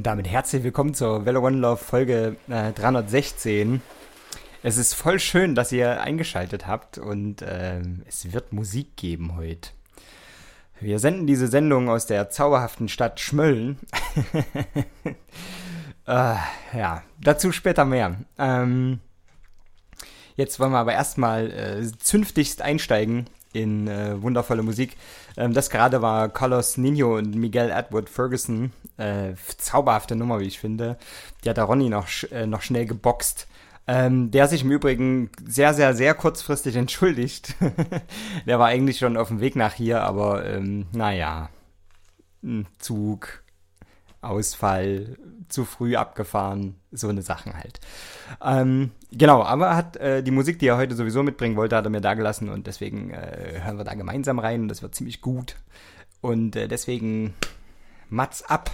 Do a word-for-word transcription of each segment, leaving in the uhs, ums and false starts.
Und damit herzlich willkommen zur Velo One Love Folge äh, dreihundertsechzehn. Es ist voll schön, dass ihr eingeschaltet habt und äh, es wird Musik geben heute. Wir senden diese Sendung aus der zauberhaften Stadt Schmölln. äh, ja, dazu später mehr. Ähm, jetzt wollen wir aber erstmal äh, zünftigst einsteigen in äh, wundervolle Musik. Ähm, das gerade war Carlos Nino und Miguel Edward Ferguson. Äh, zauberhafte Nummer, wie ich finde. Die hat der Ronny noch, sch- äh, noch schnell geboxt. Ähm, der sich im Übrigen sehr, sehr, sehr kurzfristig entschuldigt. Der war eigentlich schon auf dem Weg nach hier, aber ähm, naja, Zug, Ausfall, zu früh abgefahren, so eine Sachen halt. Ähm, genau, aber er hat äh, die Musik, die er heute sowieso mitbringen wollte, hat er mir da gelassen und deswegen äh, hören wir da gemeinsam rein und das wird ziemlich gut. Und äh, deswegen Mats ab!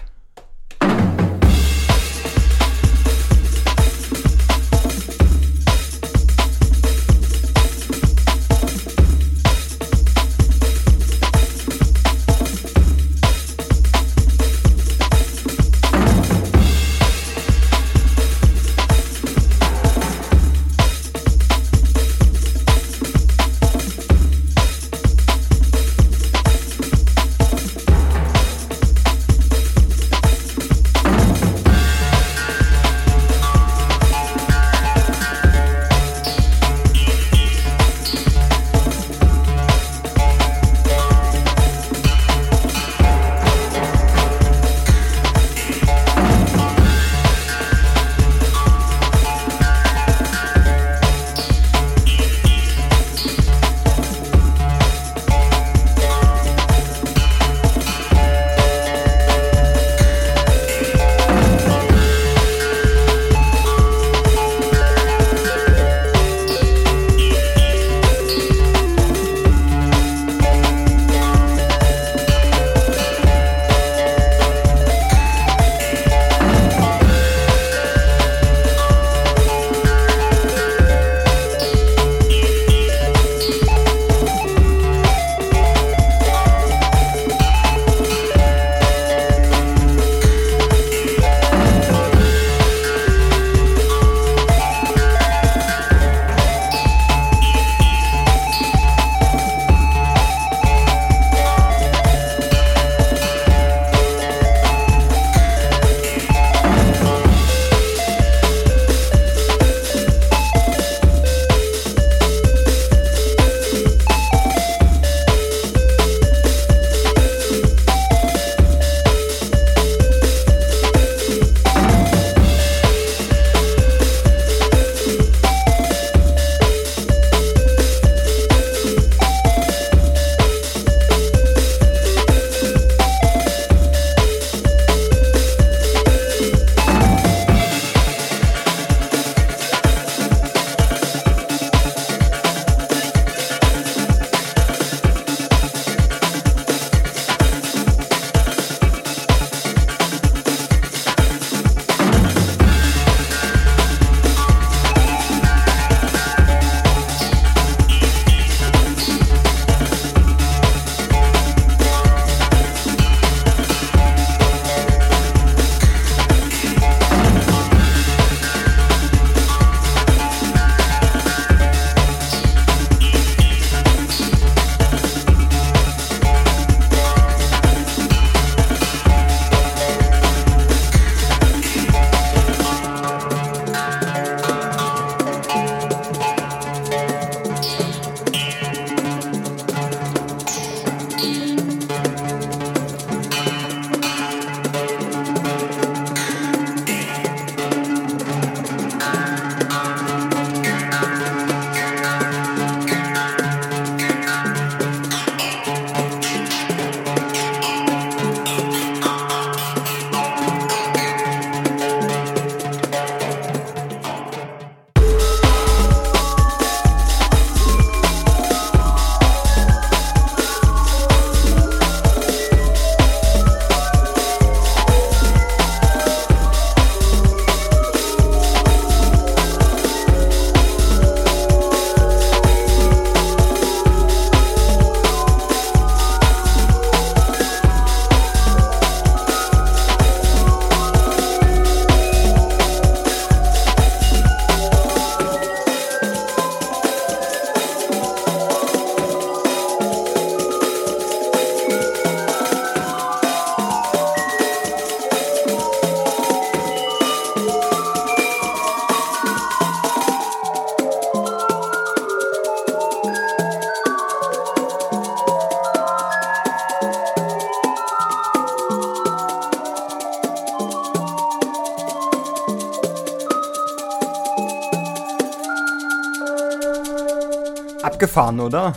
Abgefahren, oder?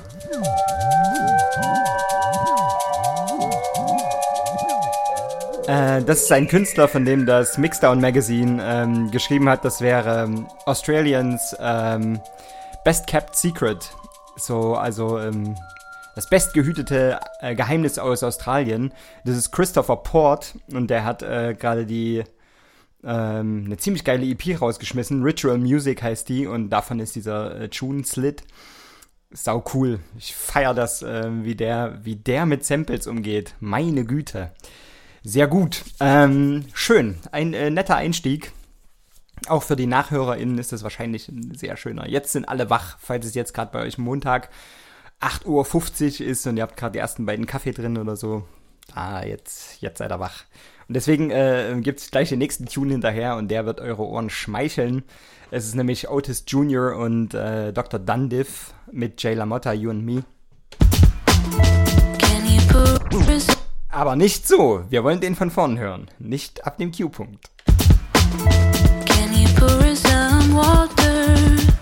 Äh, das ist ein Künstler, von dem das Mixdown Magazine ähm, geschrieben hat. Das wäre ähm, Australians ähm, Best Kept Secret. So, also ähm, das bestgehütete äh, Geheimnis aus Australien. Das ist Christopher Port und der hat äh, gerade die ähm, eine ziemlich geile E P rausgeschmissen. Ritual Music heißt die und davon ist dieser äh, Tune Slit. Sau cool. Ich feiere das, äh, wie der, wie der mit Samples umgeht. Meine Güte. Sehr gut. Ähm, schön. Ein äh, netter Einstieg. Auch für die NachhörerInnen ist das wahrscheinlich ein sehr schöner. Jetzt sind alle wach, falls es jetzt gerade bei euch Montag acht Uhr fünfzig ist und ihr habt gerade die ersten beiden Kaffee drin oder so. Ah, jetzt, jetzt seid ihr wach. Und deswegen äh, gibt es gleich den nächsten Tune hinterher und der wird eure Ohren schmeicheln. Es ist nämlich Otis Junior und äh, Doktor Dundiff mit Jay LaMotta, You and Me. Aber nicht so. Wir wollen den von vorn hören. Nicht ab dem Q-Punkt. Can you pour some water?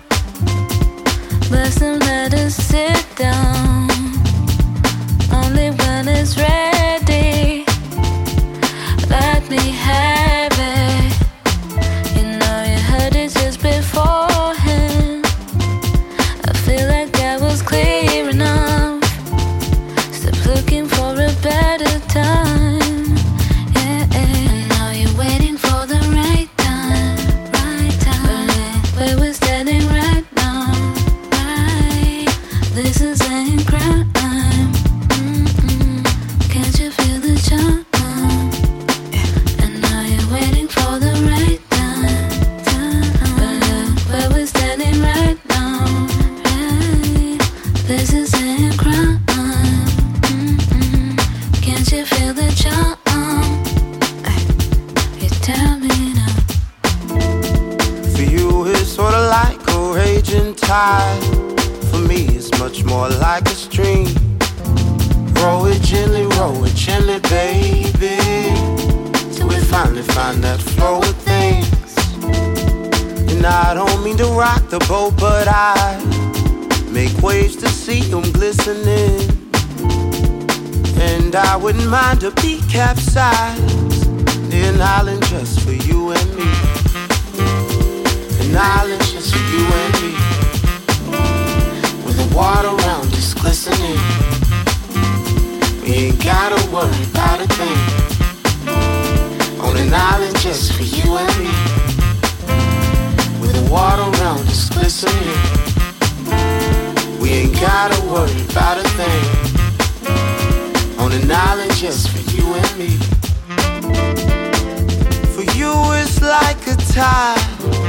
Bless and let us sit down. Only when it's ready. Let me have it. You know you heard it just beforehand. I feel like that was clear enough. Stop looking for a better time. Yeah, I know you're waiting for the right time, right time. Where we're standing right now, right. This is ain't crime. Mm-mm. Can't you feel the charm? Tide. For me, it's much more like a stream. Roll it gently, roll it gently, baby. Till we finally find that flow of things. And I don't mean to rock the boat, but I make waves to see them glistening. And I wouldn't mind a beat capsized near an island just for you and me. An island just for you and me. The water around us glistening. We ain't gotta worry about a thing. On an island just for you and me. With the water around us glistening. We ain't gotta worry about a thing. On an island just for you and me. For you it's like a tide.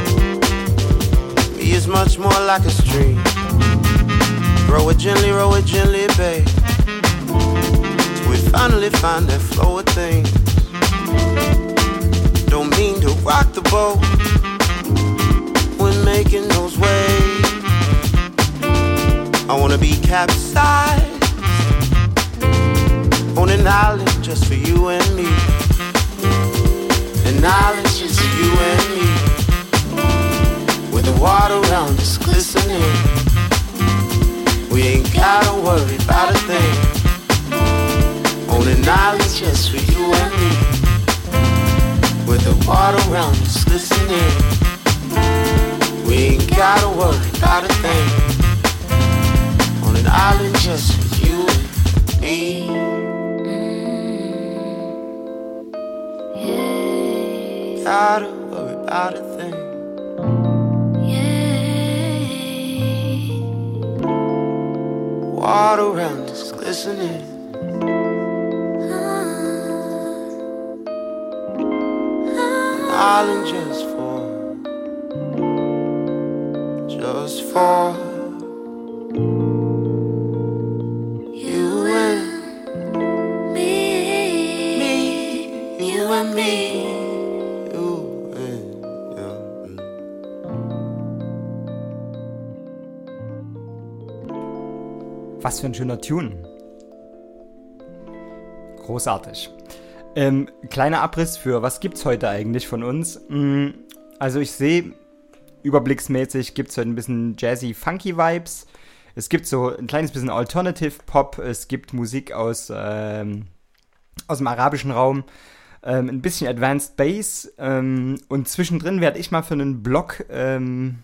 Me is much more like a stream. Roll it gently, roll it gently, babe. Till we finally find that flow of things. Don't mean to rock the boat when making those waves. I wanna be capsized on an island just for you and me. An island just for you and me. With the water around us glistening. We ain't gotta worry about a thing. On an island just for you and me. With the water around us glistening. We ain't gotta worry about a thing. On an island just for you and me. Mm, yeah. Gotta worry about a thing. Water around us glistening. An island just for, just for you and me, me, you and me, you and you. Was für ein schöner Tune. Großartig. Ähm, kleiner Abriss für, was gibt's heute eigentlich von uns? Also ich sehe, überblicksmäßig gibt's heute ein bisschen jazzy, funky Vibes. es gibt so ein kleines bisschen Alternative Pop, es gibt Musik aus, ähm, aus dem arabischen Raum, ähm, ein bisschen Advanced Bass ähm, und zwischendrin werde ich mal für einen Blog ähm,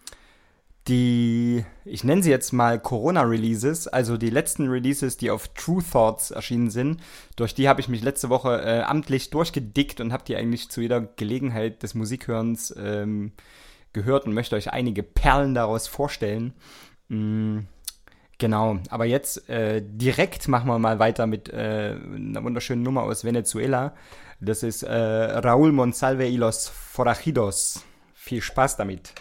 die, ich nenne sie jetzt mal Corona-Releases, also die letzten Releases, die auf True Thoughts erschienen sind, durch die habe ich mich letzte Woche äh, amtlich durchgedickt und habe die eigentlich zu jeder Gelegenheit des Musikhörens ähm, gehört und möchte euch einige Perlen daraus vorstellen. Mm, genau, aber jetzt äh, direkt machen wir mal weiter mit äh, einer wunderschönen Nummer aus Venezuela. Das ist äh, Raúl Monsalve y los Forajidos. Viel Spaß damit.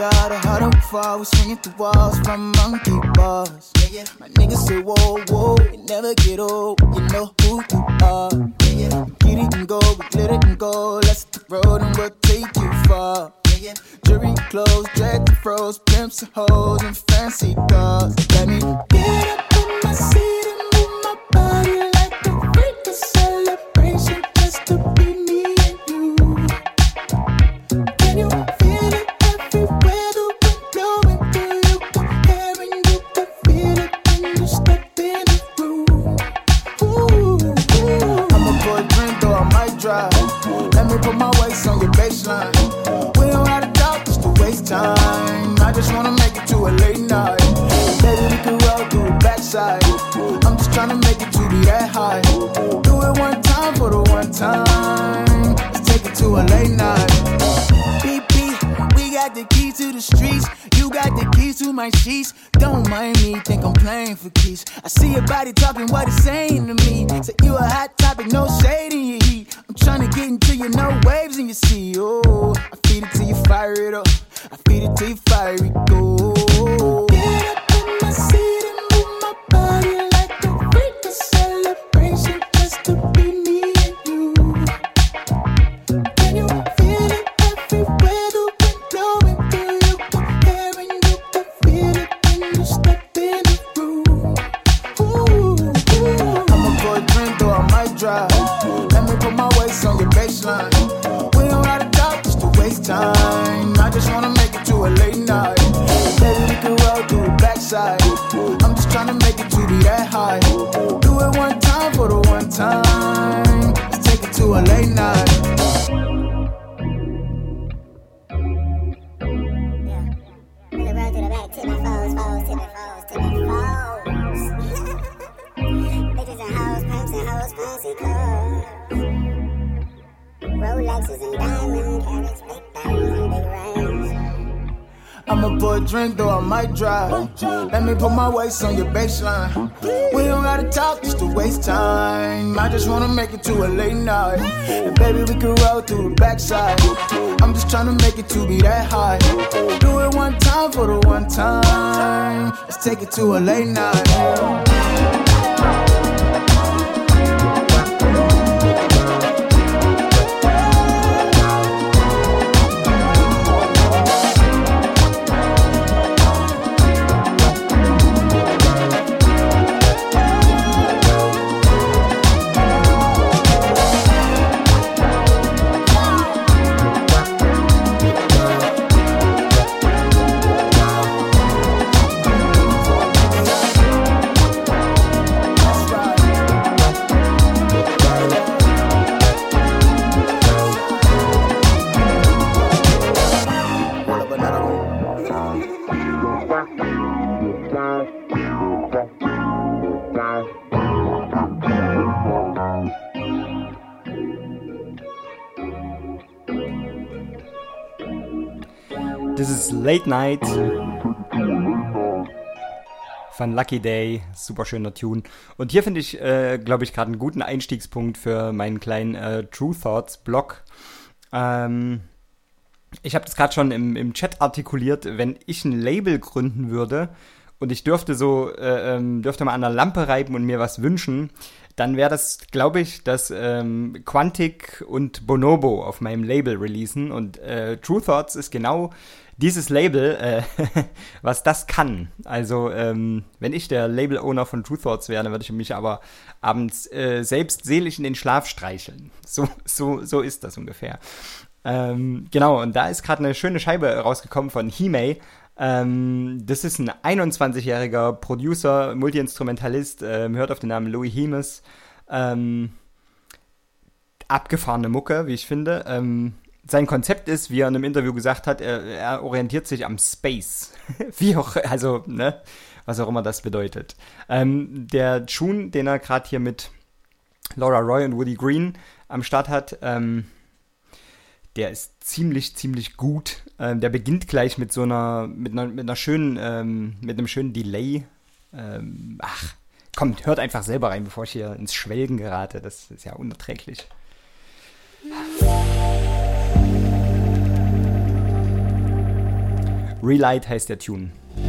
out of huddle before we swinging through walls from monkey bars. Yeah, yeah. My niggas say whoa, whoa, it never get old. You know who you are. Yeah, yeah. Get it and go, we glitter and go. Let's hit the road and we'll take you far. Yeah, yeah. Jury clothes, dread the froze, pimps and hoes and fancy cars. Let me get up in my seat and move my body like a freak. A celebration just to be me and you. Can you feel it everywhere? The wind blowing through your hair and you can feel it when you step in the room. Ooh, ooh. I'ma pour a drink though I might drive. Let me put my waist on your baseline. We don't gotta talk just to waste time. I just wanna make it to a late night. Baby, we can roll through the backside. I'm just tryna make it to be that high. Do it one time for the one time. Let's take it to a late night. Beep, beep, we got the keys to the streets. You got the keys to my sheets. Don't mind me, think I'm playing for keys. I see your body talking what it's saying to me. Say you a hot topic, no shade in your heat. I'm tryna get into your no waves in your sea. Oh, I feed it till you fire it up. I feed it till you fire it go. Get up in my seat and move my body like a freak. A celebration just to be me and you. Can you feel it everywhere? The wind blowing through your hair and you can feel it when you step in the room. Ooh, ooh. I'ma pour a drink though I might drive. Let me put my waist on your baseline. We don't gotta talk just to waste time. I just wanna make it to a late night. Baby, we can roll through the backside. I'm just tryna make it to be that high. Do it one time for the one time. Let's take it to a late night. Rolexes and diamond carrots, big diamonds and big rings. I'ma pour a drink though I might drive. Let me put my waist on your baseline. We don't gotta talk just to waste time. I just wanna make it to a late night. And baby, we can roll through the backside. I'm just tryna make it to be that high. Do it one time for the one time. Let's take it to a late night. This is Late Night von Lucky Day, super schöner Tune. Und hier finde ich, äh, glaube ich, gerade einen guten Einstiegspunkt für meinen kleinen äh, True Thoughts Blog. Ähm, ich habe das gerade schon im, im Chat artikuliert, wenn ich ein Label gründen würde und ich dürfte so, äh, ähm, dürfte mal an der Lampe reiben und mir was wünschen, dann wäre das, glaube ich, dass ähm, Quantic und Bonobo auf meinem Label releasen. Und äh, True Thoughts ist genau dieses Label, äh, was das kann. Also, ähm, wenn ich der Label-Owner von True Thoughts wäre, dann würde ich mich aber abends äh, selbst seelisch in den Schlaf streicheln. So, so, so ist das ungefähr. Ähm, genau, und da ist gerade eine schöne Scheibe rausgekommen von Hime. Ähm, das ist ein einundzwanzigjähriger Producer, Multi-Instrumentalist, ähm, hört auf den Namen Louis Hemes. Ähm, abgefahrene Mucke, wie ich finde. Ähm, sein Konzept ist, wie er in einem Interview gesagt hat, er, er orientiert sich am Space. wie auch, also, ne, was auch immer das bedeutet. Ähm, der Tune, den er gerade hier mit Laura Roy und Woody Green am Start hat, ähm, der ist ziemlich, ziemlich gut. Ähm, der beginnt gleich mit so einer, mit einer, mit einer schönen, ähm, mit einem schönen Delay. Ähm, ach, kommt, hört einfach selber rein, bevor ich hier ins Schwelgen gerate. Das ist ja unerträglich. Relight heißt der Tune.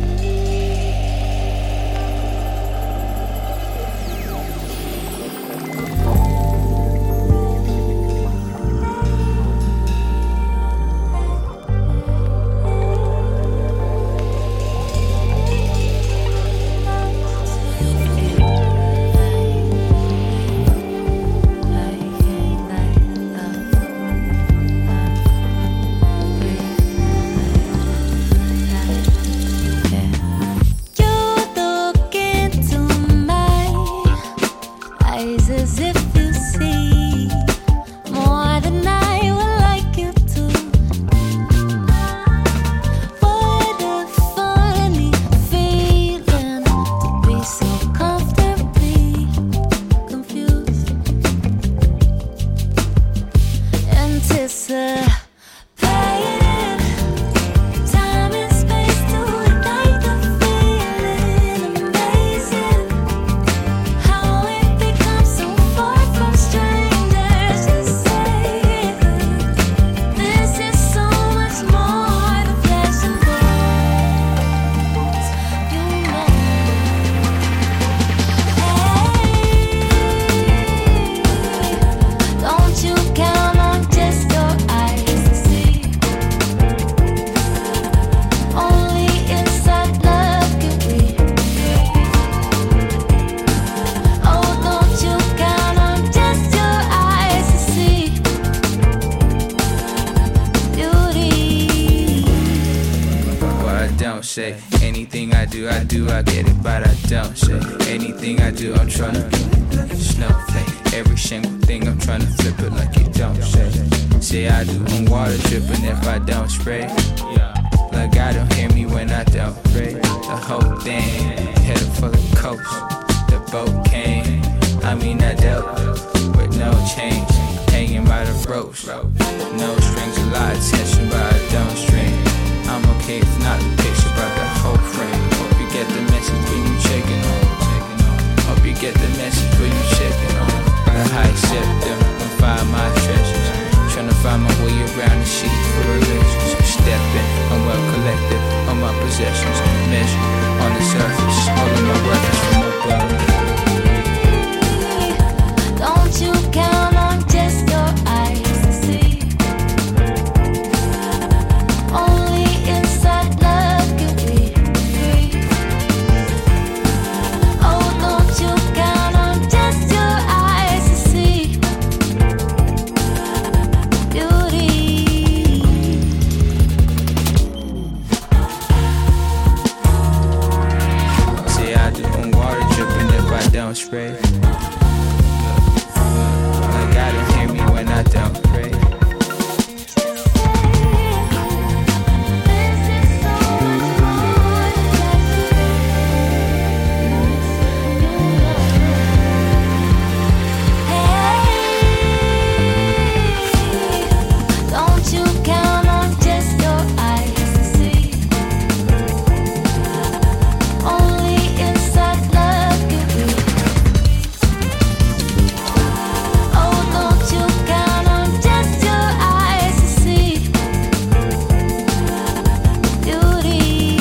say anything I do, I do, I get it, but I don't say anything I do, I'm tryna snowflake. Every single thing I'm tryna flip it like you don't say. Say I do, I'm water dripping if I don't spray. Like I don't hear me when I don't pray. The whole thing, headed for the coast. The boat came, I mean I dealt with no change. Hanging by the ropes, no strings, a lot of tension, but I don't strain. I'm okay if not the picture, but the whole frame. Hope you get the message when you checking on. Hope you get the message when you checking on. The high scepter, I'm find my treasures. Tryna find my way around the sea for religions. Stepping, I'm well collected on my possessions. Measure on the surface, all of my brothers from above. Don't you count on just your eyes to see. Only inside love can be free. Oh, don't you count on just your eyes to see beauty. Say I do on water dripping if I don't spray. Like I don't hear me when I don't pray. Don't you count on just your eyes to see. Only inside love can be. Oh, don't you count on just your eyes to see beauty.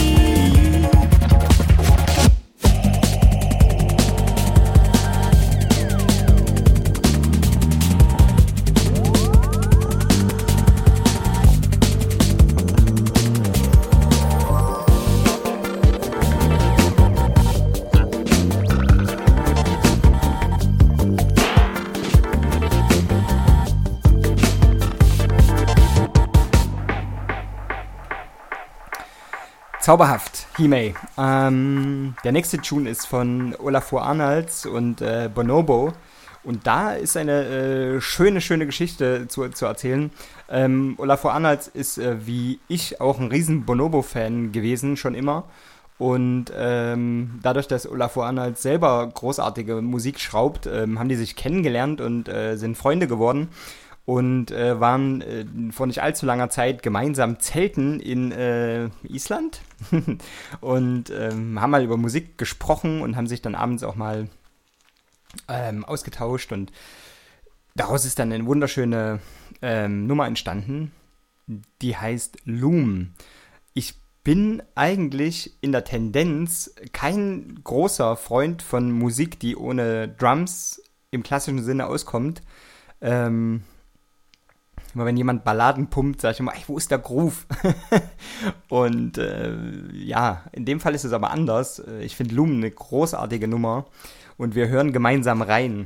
Zauberhaft, Himei. Ähm, der nächste Tune ist von Olafur Arnalds und äh, Bonobo. Und da ist eine äh, schöne, schöne Geschichte zu, zu erzählen. Ähm, Olafur Arnalds ist äh, wie ich auch ein riesen Bonobo-Fan gewesen, schon immer. Und ähm, dadurch, dass Olafur Arnalds selber großartige Musik schraubt, ähm, haben die sich kennengelernt und äh, sind Freunde geworden. Und äh, waren äh, vor nicht allzu langer Zeit gemeinsam zelten in äh, Island und ähm, haben mal über Musik gesprochen und haben sich dann abends auch mal ähm, ausgetauscht und daraus ist dann eine wunderschöne ähm, Nummer entstanden, die heißt Loom. Ich bin eigentlich in der Tendenz kein großer Freund von Musik, die ohne Drums im klassischen Sinne auskommt. Ähm, immer wenn jemand Balladen pumpt, sage ich immer, ey, wo ist der Groove? Und äh, ja, in dem Fall ist es aber anders. Ich finde Lumen eine großartige Nummer und wir hören gemeinsam rein.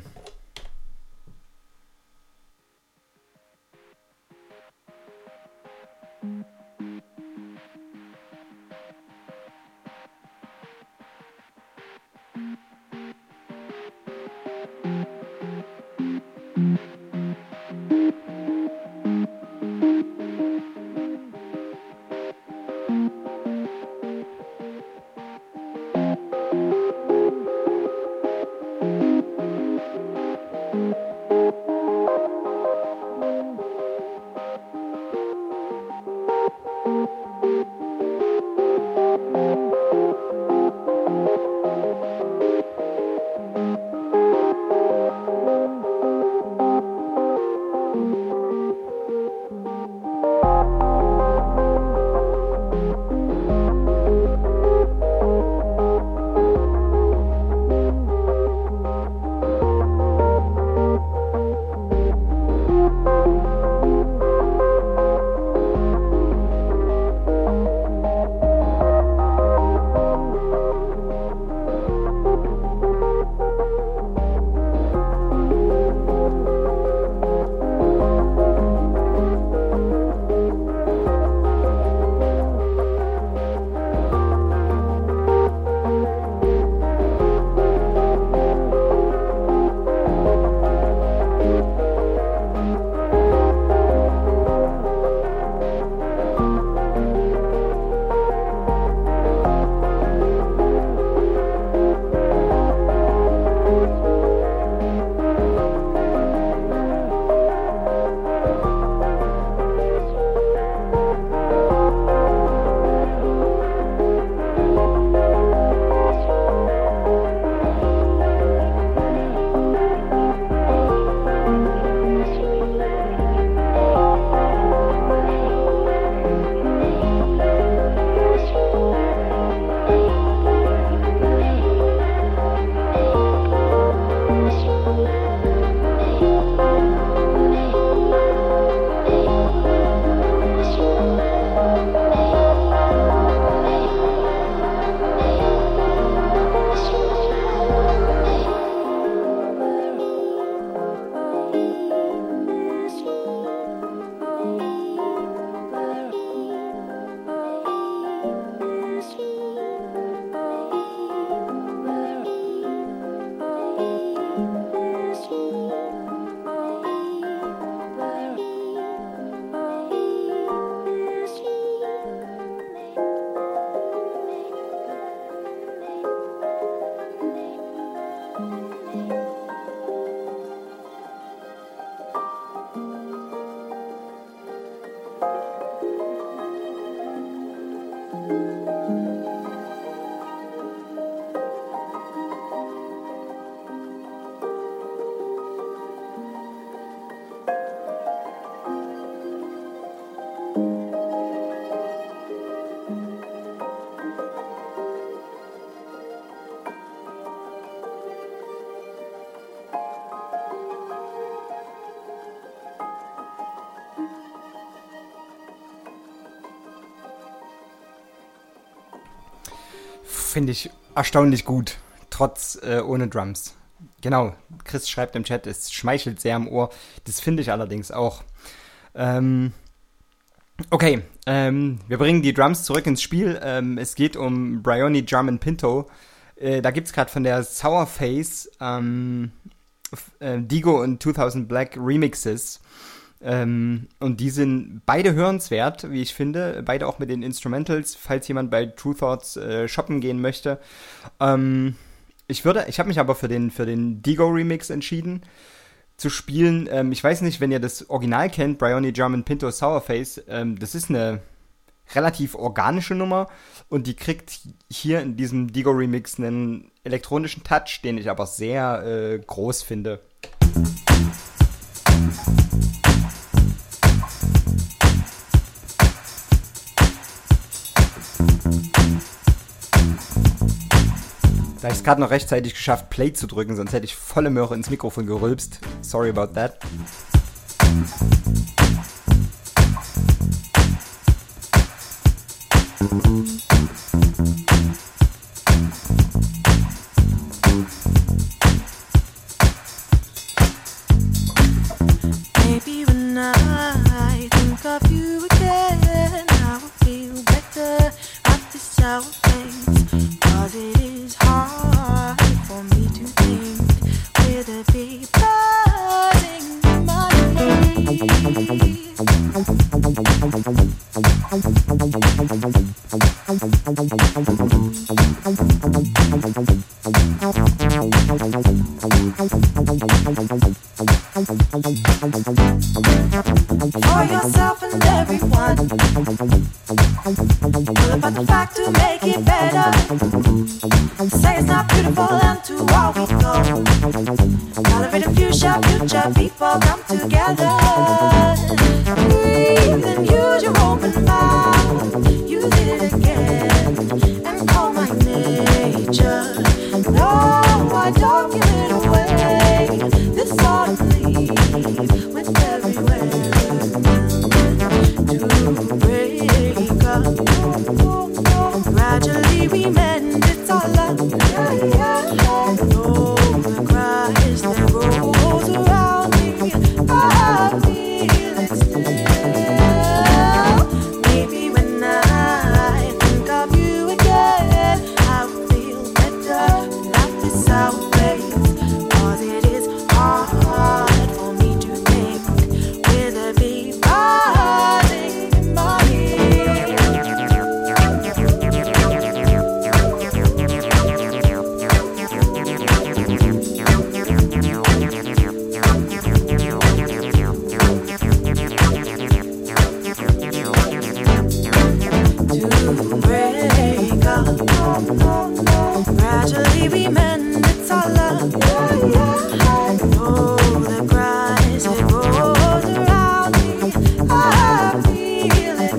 Finde ich erstaunlich gut, trotz äh, ohne Drums. Genau, Chris schreibt im Chat, es schmeichelt sehr im Ohr. Das finde ich allerdings auch. Ähm, okay, ähm, wir bringen die Drums zurück ins Spiel. Ähm, es geht um Bryony Drum and Pinto. Äh, da gibt es gerade von der Sourface ähm, äh, Digo und zweitausend Black Remixes. Ähm, und die sind beide hörenswert, wie ich finde. Beide auch mit den Instrumentals, falls jemand bei True Thoughts äh, shoppen gehen möchte. Ähm, ich würde, ich habe mich aber für den, für den Digo-Remix entschieden zu spielen. Ähm, ich weiß nicht, wenn ihr das Original kennt, Bryony Drum and Pinto Sourface. Ähm, das ist eine relativ organische Nummer und die kriegt hier in diesem Digo-Remix einen elektronischen Touch, den ich aber sehr äh, groß finde. Da habe ich es gerade noch rechtzeitig geschafft, Play zu drücken, sonst hätte ich volle Möhre ins Mikrofon gerülpst. Sorry about that. Maybe when I think of you again, I will feel better at this sour face. Cause it is hard for me to think with a big buzzing in my head. For yourself and everyone, all about the fact to make it better. Say it's not beautiful and to all we go. Celebrate a future, future people come together. Breathe and use your open mouth. Use it again and call my nature. No, I don't give it away. This ought to leave with everywhere. To break up, gradually we mend. It's all love. No, the cries that rolls around me, I feel it still. Maybe when I think of you again, I will feel better. Not this our place, cause it is hard for me to think with a big buzzing in my head. To break up, gradually we mend. It's all love. Oh, the cries that rolls around me, I feel it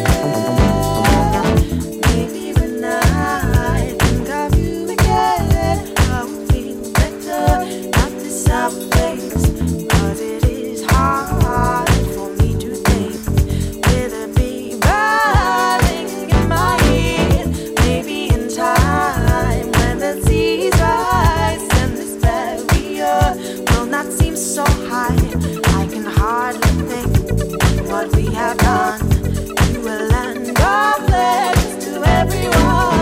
still. Maybe when I think of you again, I will feel better. Not this our place, cause it is hard for me to think with a big buzzing in my head. Maybe in time when the seas rise and this barrier will not seem so high, I can hardly think what we have done to a land of legends to everyone.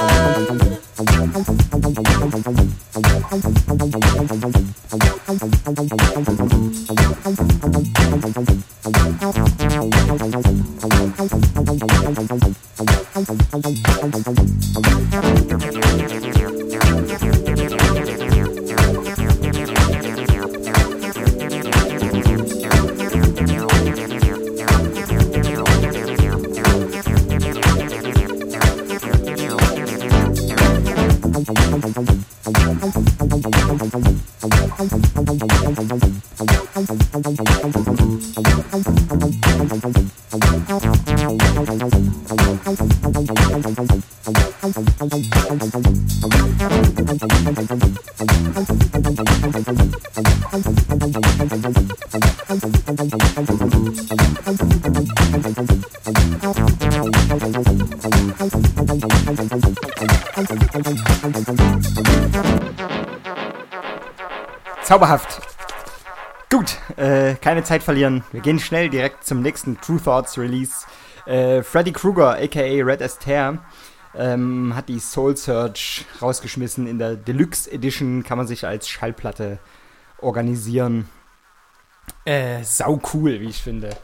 Zauberhaft. Gut, äh, keine Zeit verlieren. Wir gehen schnell direkt zum nächsten True Thoughts Release. Äh, Freddy Krueger, aka Red Astaire, ähm, hat die Soul Search rausgeschmissen. In der Deluxe Edition kann man sich als Schallplatte organisieren. Äh, sau cool, wie ich finde.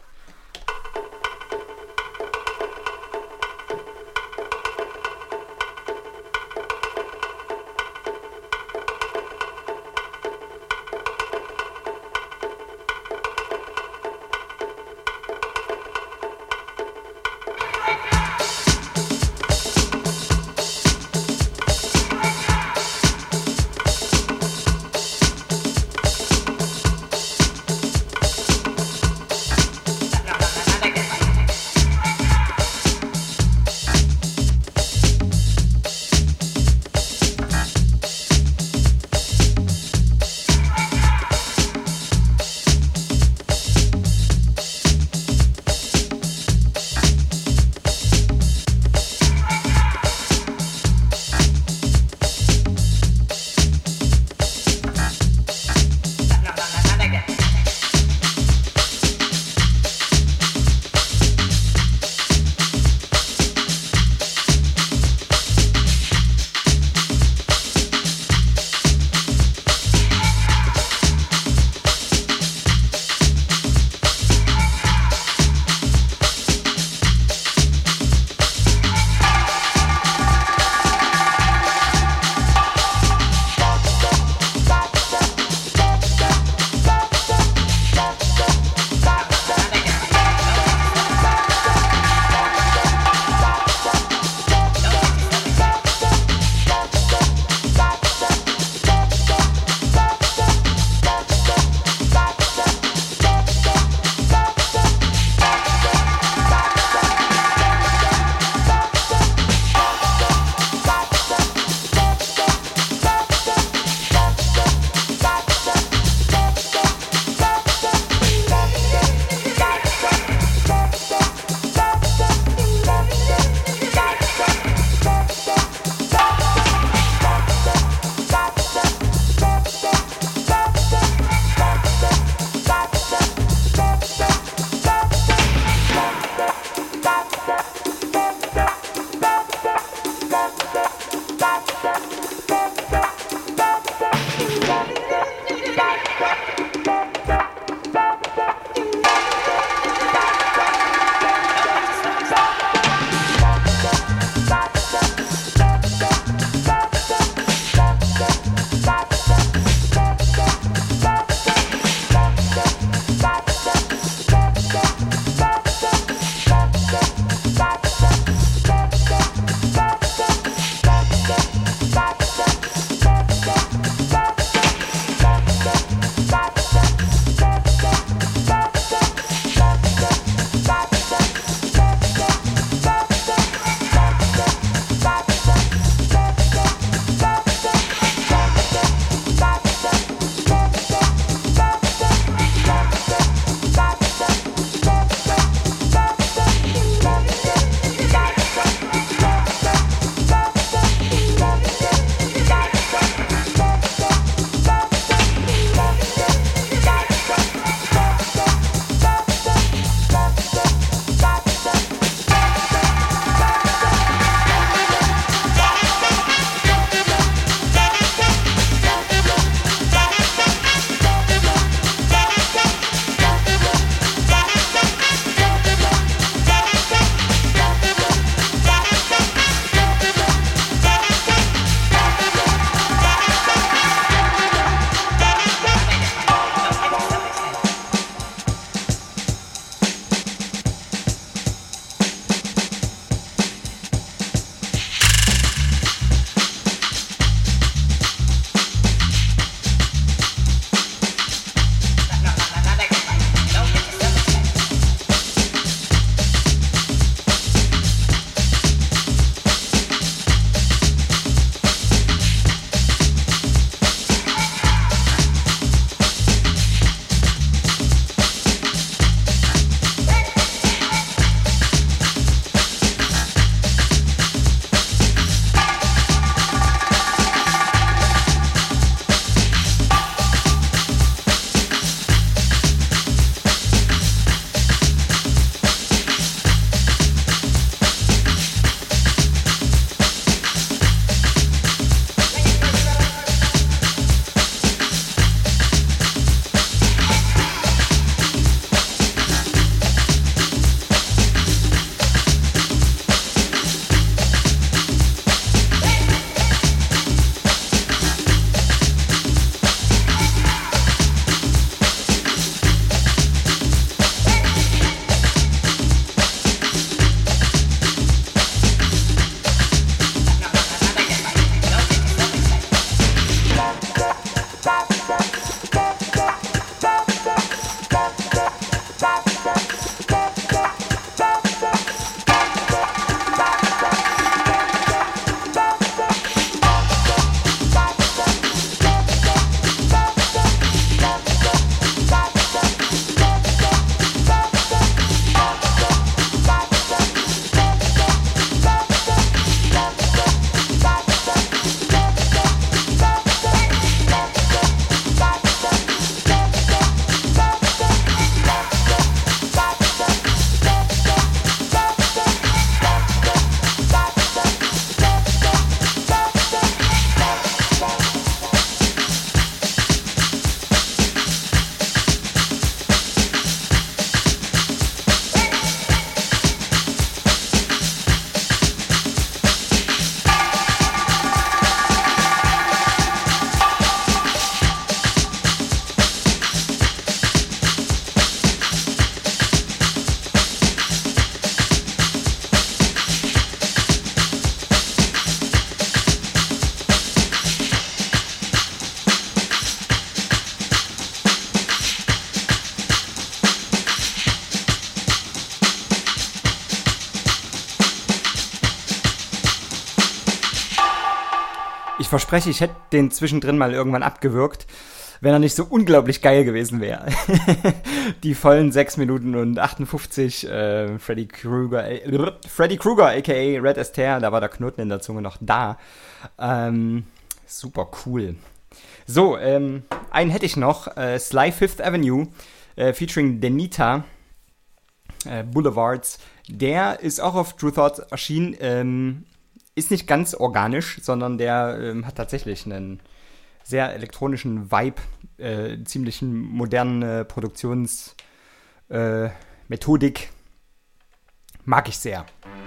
Ich verspreche, ich hätte den zwischendrin mal irgendwann abgewürgt, wenn er nicht so unglaublich geil gewesen wäre. Die vollen sechs Minuten und achtundfünfzig, äh, Freddy Krueger, äh, Freddy Krueger, aka Red Astaire, da war der Knoten in der Zunge noch da. Ähm, super cool. So, ähm, einen hätte ich noch, äh, Sly Fifth Avenue, äh, featuring Denita, äh, Boulevards. Der ist auch auf Tru Thoughts erschienen, ähm, ist nicht ganz organisch, sondern der ähm, hat tatsächlich einen sehr elektronischen Vibe, äh, ziemlich moderne Produktionsmethodik. Äh, Methodik. Mag ich sehr.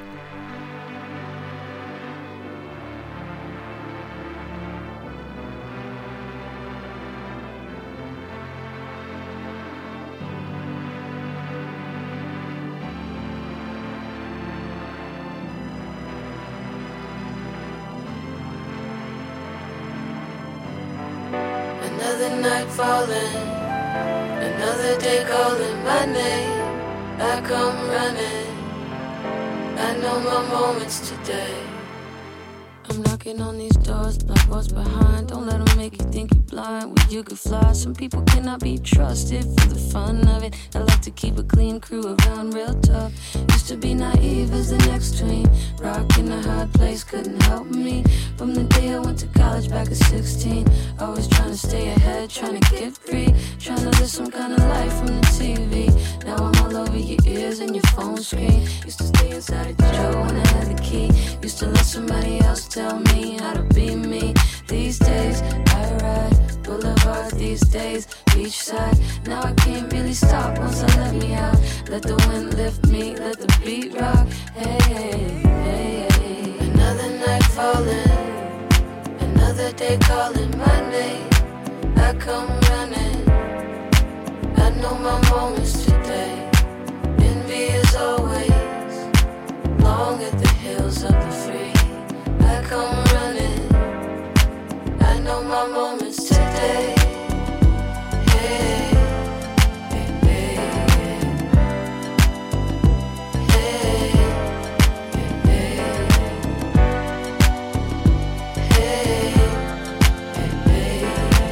Another night falling, another day calling my name. I come running, I know my moments today. I'm knocking on these doors like what's behind. Don't let them make you think you're blind. Well, you could fly, some people cannot be trusted for the fun of it. I like to keep a clean crew around real tough. Used to be naive as the next tween. Rock in a hard place couldn't help me. From the day I went to college back at sixteen. Always trying to stay ahead, trying to get free. Trying to live some kind of life from the T V. Now I'm all over your ears and your phone screen. Used to stay inside of the drawer when I had the key. Used to let somebody else tell me how to be me. These days I ride Boulevard, these days beachside. Now I can't really stop once I let me out. Let the wind lift me, let the beat rock. Hey, hey, hey, hey. Another night falling, another day calling my name. I come running, I know my moments today. Envy is always long at the hills of the free. I come running, I know my moments today. Hey, hey, hey, hey, hey, hey, hey,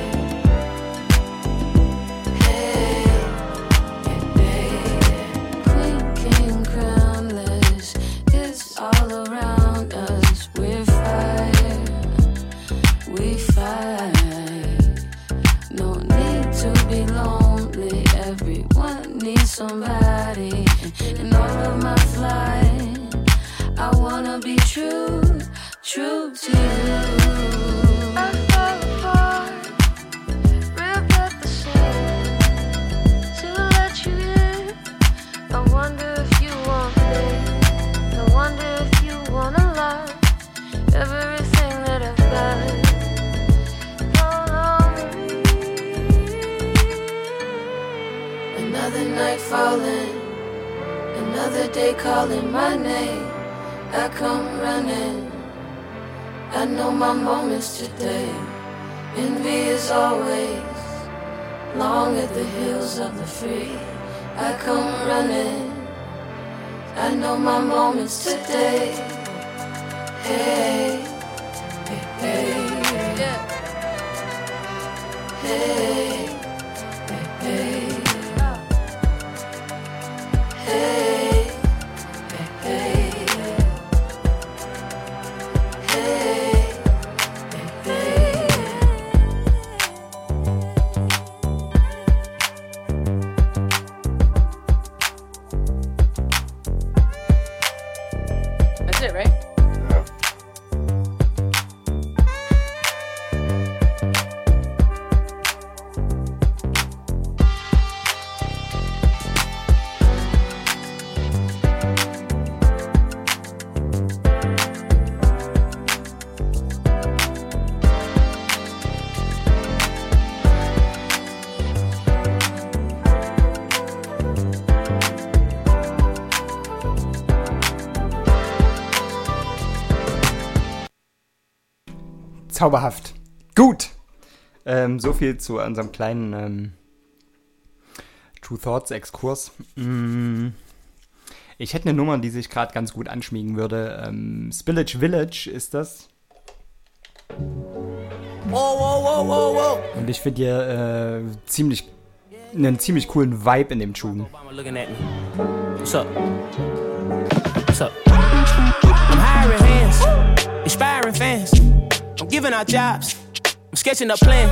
hey. Queen, king, crownless, it's all around us. We're fire, we fight. No need to be lonely. Everyone needs somebody. In all of my flight, I wanna be true, true to you. I fall apart, rip at the seams to let you in. I wonder if you want me. I wonder if you wanna love everything that I've got. Another night falling, another day calling my name. I come running, I know my moments today. Envy is always long at the hills of the free. I come running, I know my moments today. Hey, hey, hey, yeah. Hey, hey, hey. Hey, hey, hey, hey, hey. That's it, right? Zauberhaft. Gut. Ähm, so viel zu unserem kleinen ähm, Tru Thoughts Exkurs. Mm, ich hätte eine Nummer, die sich gerade ganz gut anschmiegen würde. Ähm, Spillage Village ist das. Und ich finde hier äh, ziemlich einen ziemlich coolen Vibe in dem Tune. What's up? What's up? I'm hiring hands, inspiring fans. I'm giving out jobs. I'm sketching up plans.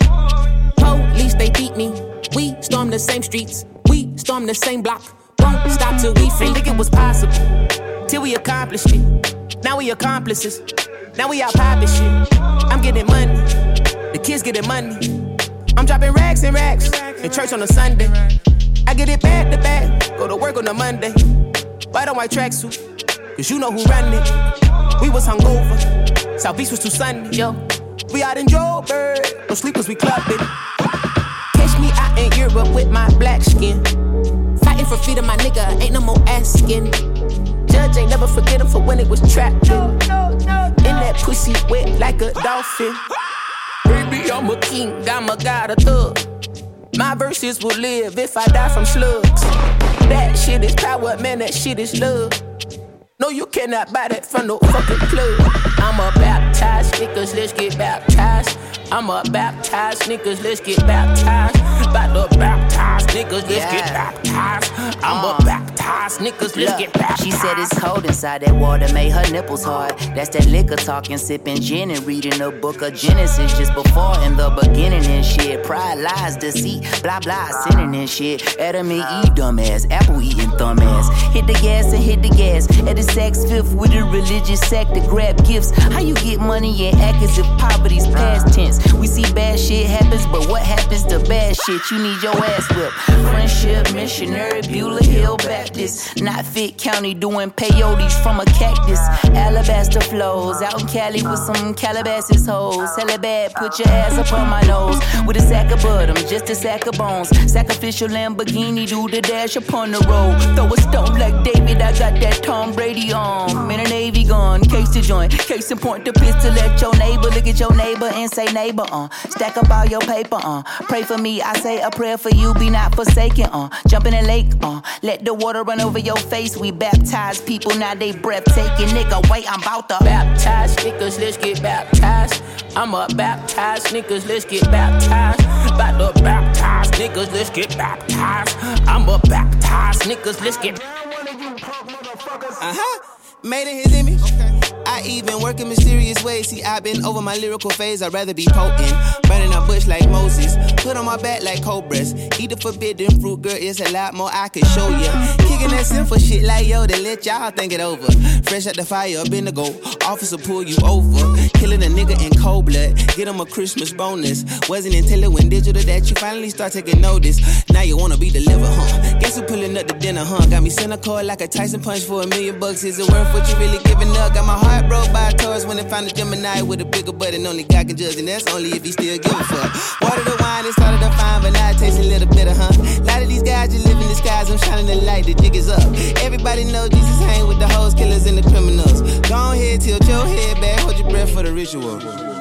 Police, they beat me. We storm the same streets. We storm the same block. Won't stop till we free. Think it was possible till we accomplished it. Now we accomplices. Now we out popping shit. I'm getting money. The kids getting money. I'm dropping racks and racks in church on a Sunday. I get it back to back. Go to work on a Monday. White on white tracksuit. Cause you know who run it. We was hungover. South Beach was too sunny. Yo, we out in Joburg. No sleep cause we clubbed it. Catch me out in Europe with my black skin. Fighting for freedom, my nigga. Ain't no more asking. Judge ain't never forget him for when it was trapped in. In that pussy wet like a dolphin. Baby, I'm a king, I'm a god, a thug. My verses will live if I die from slugs. That shit is power, man, that shit is love. No, you cannot buy that from no fucking club. I'm a baptized niggas, let's get baptized. I'm a baptized niggas, let's get baptized. About to baptized niggas, let's yeah. get baptized. I'm uh, a baptized niggas, let's look, get baptized. She said it's cold inside that water, made her nipples hard. That's that liquor talking, sipping gin and reading the book of Genesis just before in the beginning and shit. Pride, lies, deceit, blah blah, sinning and shit. Adam and Eve, dumbass, apple eating thumb ass. Hit the gas and hit the gas. At the sex fifth with a religious sect to grab gifts. How you get money and act as if poverty's past tense? We see bad shit happens, but what happens to bad shit? You need your ass whipped. Friendship, missionary, Beulah Hill Baptist. Not fit county doing peyotes from a cactus. Alabaster flows out in Cali with some Calabasas hoes. Hella bad, put your ass up on my nose. With a sack of bottom, just a sack of bones. Sacrificial Lamborghini, do the dash upon the road. Throw a stone like David, I got that Tom Brady on. Man, a Navy gun, case to joint. Case and point the pistol at your neighbor. Look at your neighbor and say neighbor, uh. Stack up all your paper, uh. Pray for me, I say a prayer for you, be not forsaken, uh. Jump in the lake, uh. Let the water run over your face. We baptize people, now they breathtaking. Nigga, wait, I'm about to baptize niggas, let's get baptized. I'm a baptized niggas, let's get baptized. About to baptize niggas, let's get baptized. I'm a baptized niggas, let's get uh-huh. Made in his image. Okay. I even work in mysterious ways. See, I've been over my lyrical phase. I'd rather be potent. Burning a bush like Moses. Put on my back like cobras. Eat the forbidden fruit, girl. It's a lot more I could show ya. Kicking that simple shit like Yoda. Let y'all think it over. Fresh out the fire, up in the go. Officer pull you over. Killing a nigga in cold blood. Get him a Christmas bonus. Wasn't until it went digital that you finally start taking notice. Now you wanna be delivered, huh? Guess who pulling up the dinner, huh? Got me cynical like a Tyson punch for a million bucks. Is it worth what you really giving up? Got my heart broke by a Taurus when they found a Gemini with a bigger butt and only God can judge, and that's only if he still give a fuck. Water the wine, it started to fine, but now it tastes a little bitter, huh? A lot of these guys just live in the skies, I'm shining the light, the jig is up. Everybody knows Jesus hang with the hoes, killers, and the criminals. Go ahead, tilt your head back, hold your breath for the ritual.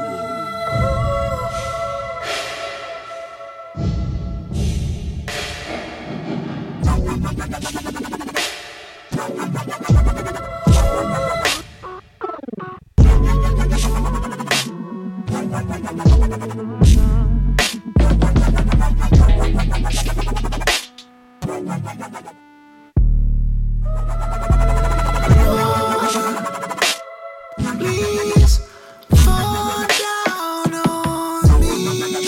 Please fall down on me.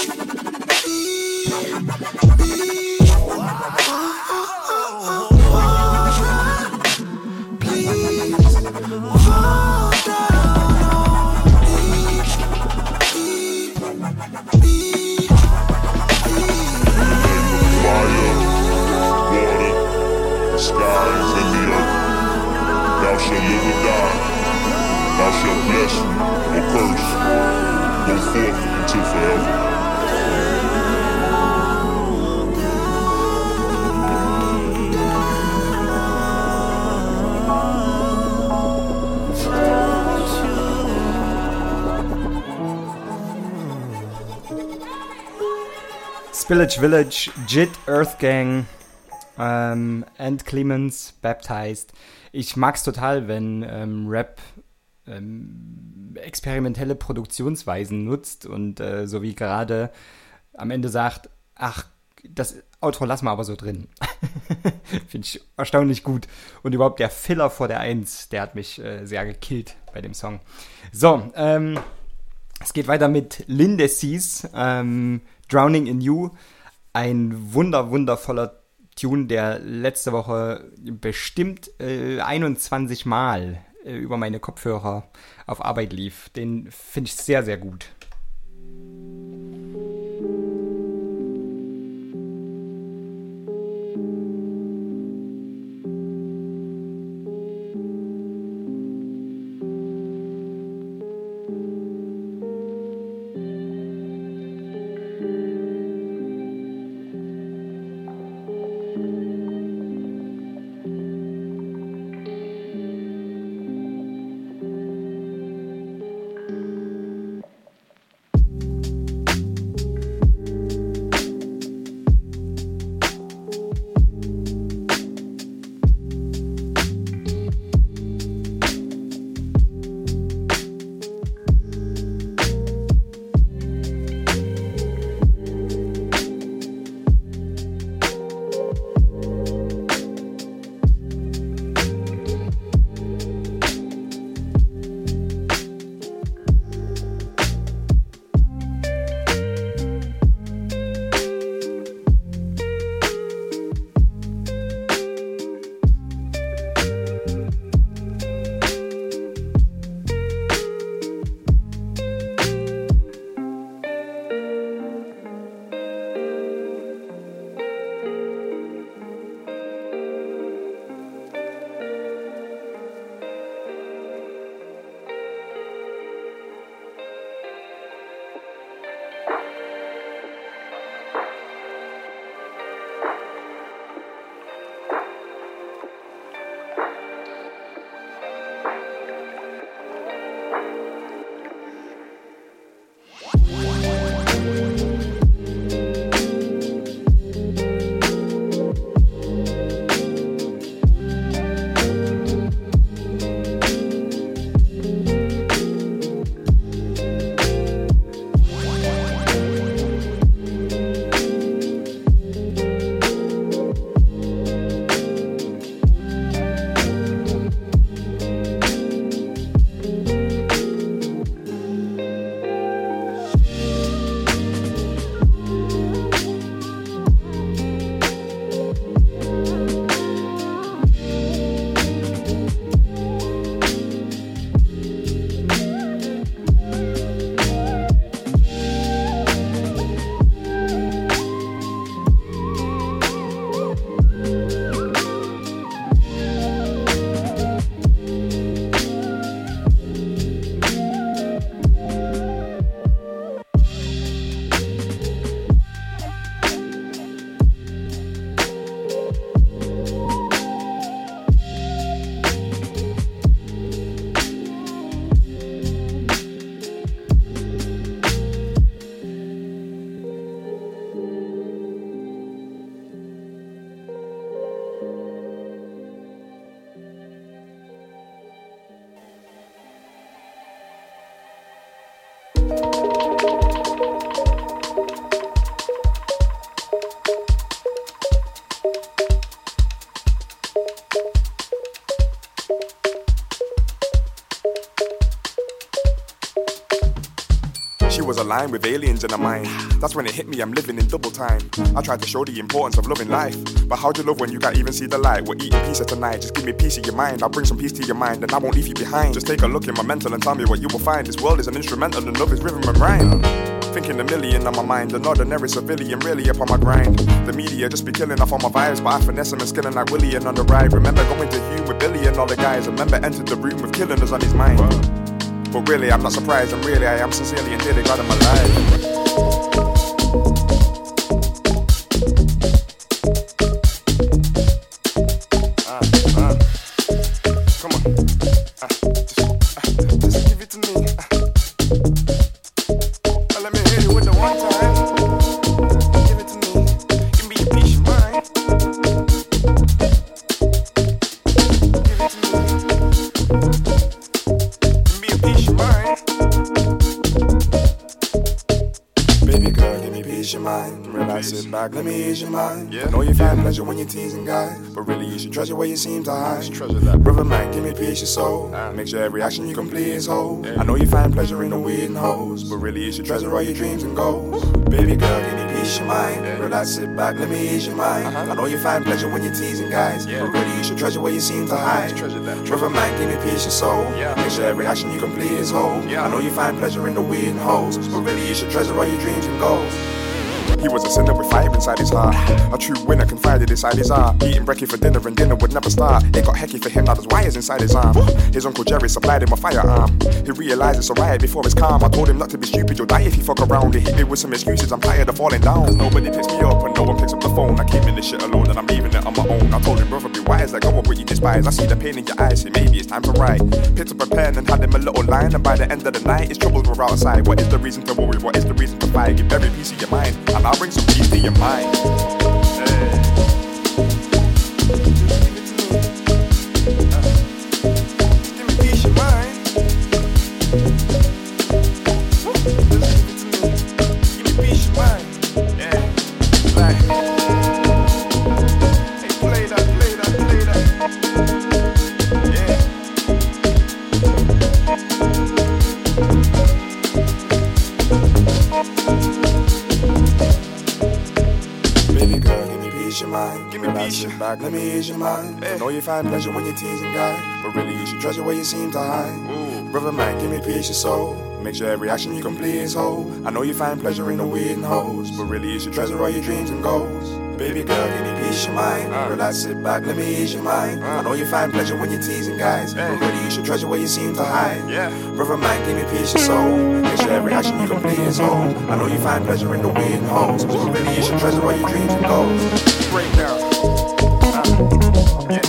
Spillage Village, Jit, Earth Gang, ähm, and Clemens, Baptized. Ich mag's total, wenn ähm, Rap ähm, experimentelle Produktionsweisen nutzt und äh, so wie gerade am Ende sagt, ach, das Outro lassen wir aber so drin. Finde ich erstaunlich gut. Und überhaupt der Filler vor der Eins, der hat mich äh, sehr gekillt bei dem Song. So, ähm, es geht weiter mit Lindesees, ähm, Drowning in You. Ein wunder, wundervoller Tune, der letzte Woche bestimmt äh, einundzwanzig Mal äh, über meine Kopfhörer auf Arbeit lief. Den finde ich sehr, sehr gut. She was aligned with aliens in her mind. That's when it hit me, I'm living in double time. I tried to show the importance of loving life, but how'd you love when you can't even see the light? We're eating pizza tonight, just give me peace of your mind. I'll bring some peace to your mind and I won't leave you behind. Just take a look in my mental and tell me what you will find. This world is an instrumental and love is rhythm and rhyme. Thinking a million on my mind, an ordinary civilian really up on my grind. The media just be killing off all my vibes, but I finesse them and skinning like Willie and on the ride. Remember going to Hume with Billy and all the guys. Remember entered the room with killing us on his mind. But really, I'm not surprised, and really, I am sincerely and dearly glad I'm alive. Baby girl, give me peace of mind. Relax, sit back, let me ease your mind. I know you find pleasure when you're teasing guys, but really you should treasure what you seem to hide. Brother man, give me peace of soul. Make sure every action you complete is whole. I know you find pleasure in the weird and hoes, but really you should treasure all your dreams and goals. Baby girl, give me peace of mind. Relax, sit back, let me ease your mind. I know you find pleasure when you're teasing guys, but really you should treasure what you seem to hide. Brother man, give me peace of soul. Make sure every action you complete is whole. I know you find pleasure in the weird and hoes, but really you should treasure all your dreams and goals. He was a sinner with fire inside his heart. A true winner confided inside his art. Eating brekkie for dinner and dinner would never start. It got hecky for him, now there's wires inside his arm. His uncle Jerry supplied him a firearm. He realised it's a riot before it's calm. I told him not to be stupid, you'll die if you fuck around. He hit me with some excuses, I'm tired of falling down. Cause nobody picks me up and no one picks up the phone. I came in this shit alone and I'm leaving it on my own. I told him, brother, be wise, let go of what you despise. I see the pain in your eyes, so maybe it's time to write. Picked up a pen and had him a little line. And by the end of the night, his troubles were outside. What is the reason to worry? What is the reason to fight? Give every piece of your mind, and I'll bring some peace to your mind. Hey. Give me peace of mind. Give me peace of mind. Yeah. Like, hey, play that, play that, play that. Yeah. Baby girl, give me peace of mind. Give me peace of back, let me ease your mind. I know you find pleasure when you're teasing guys, but really you should treasure what you seem to hide. Ooh. Brother man, give me peace of soul. Make sure every action you complete is whole. I know you find pleasure in the weird and hoes, but really you should treasure all your dreams and goals. Baby girl, give me peace of mind. Uh. Relax, sit back, let me ease your mind. Uh. I know you find pleasure when you're teasing guys, hey. But really you should treasure what you seem to hide. Yeah. Brother man, give me peace of soul. Make sure every action you complete is whole. I know you find pleasure in the weird and hoes, but really you should treasure all your dreams and goals. Break down. Uh. Yeah.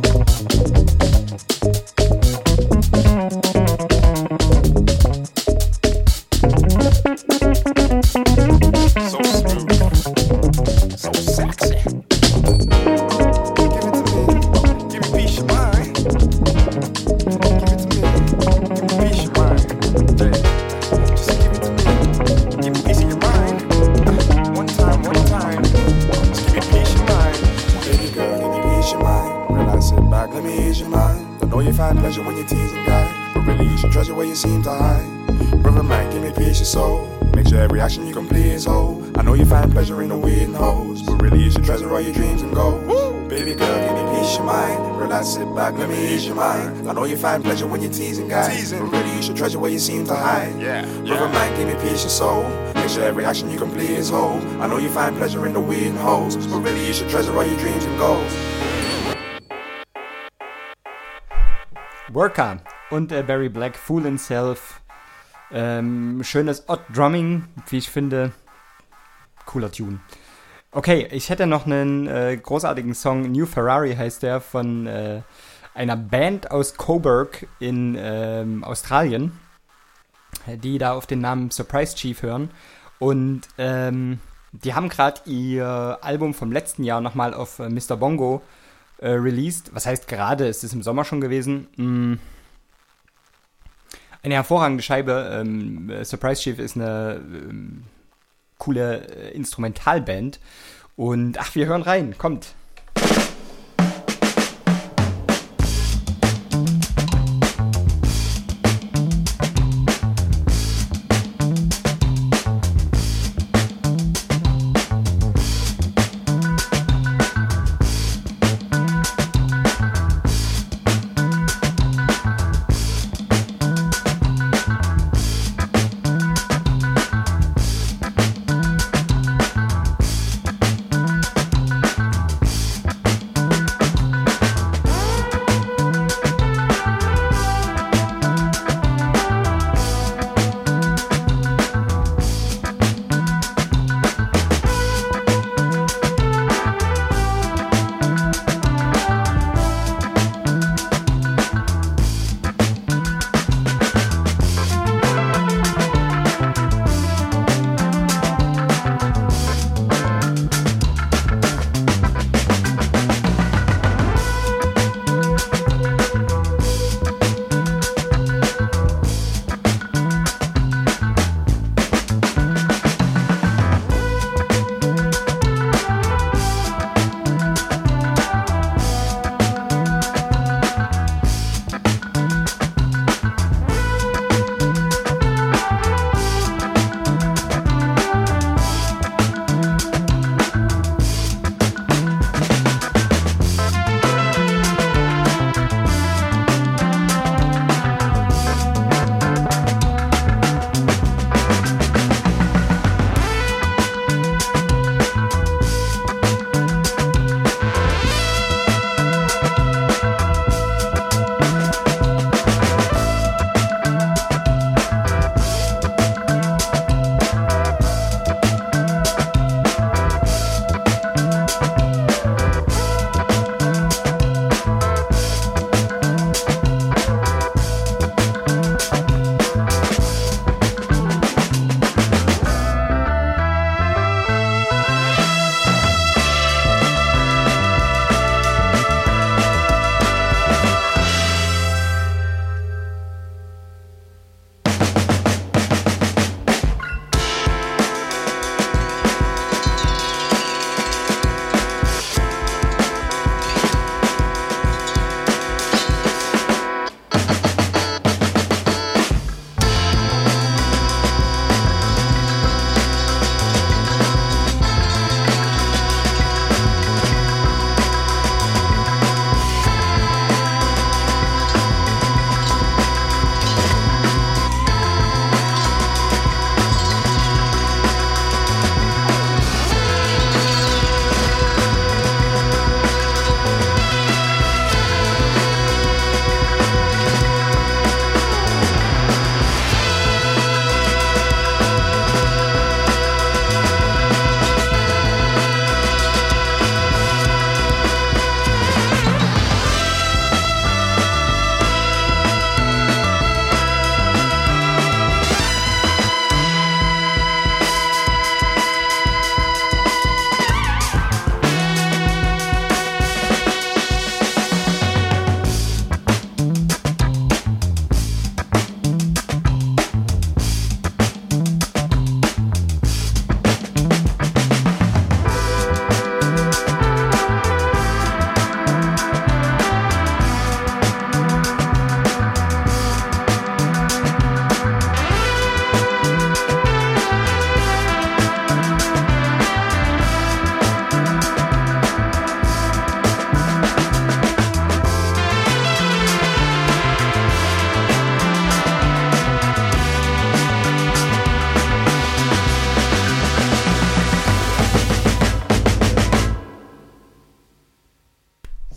So smooth, so sexy. Give it to me, give me peace of mind. Give it to me, give me peace of mind. Hey, just give it to me, give me peace of your mind. One time, one time, just give me peace of mind. Baby girl, give me peace of mind. Relax, sit back, let me ease your mind. I know you find pleasure when you're teasing guys, but really you should treasure what you seem to hide. Brother man, give me peace of soul. Make sure every action you complete is whole. I know you find pleasure in the weird and hoes, but really you should treasure all your dreams and goals. Woo! Baby girl, give me peace of mind. Relax, sit back, let me ease your mind. I know you find pleasure when you're teasing guys, teasing. But really you should treasure what you seem to hide. Yeah, Brother yeah. man, give me peace of soul. Make sure every action you complete is whole. I know you find pleasure in the weird and hoes, but really you should treasure all your dreams and goals. Worker und äh, Barry Black, Fool Himself. Ähm, schönes Odd Drumming, wie ich finde. Cooler Tune. Okay, ich hätte noch einen äh, großartigen Song, New Ferrari heißt der, von äh, einer Band aus Coburg in ähm, Australien, die da auf den Namen Surprise Chief hören. Und ähm, die haben gerade ihr Album vom letzten Jahr nochmal auf äh, Mister Bongo äh, released. Was heißt gerade? Es ist im Sommer schon gewesen. Mm. Eine hervorragende Scheibe. Ähm, Surprise Chief ist eine ähm, coole äh, Instrumentalband. Und ach, wir hören rein. Kommt.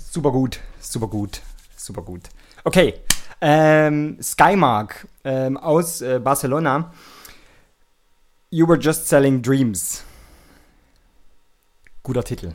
super gut, super gut, super gut. Okay, ähm, Skymark ähm, aus äh, Barcelona. You Were Just Selling Dreams. Guter Titel.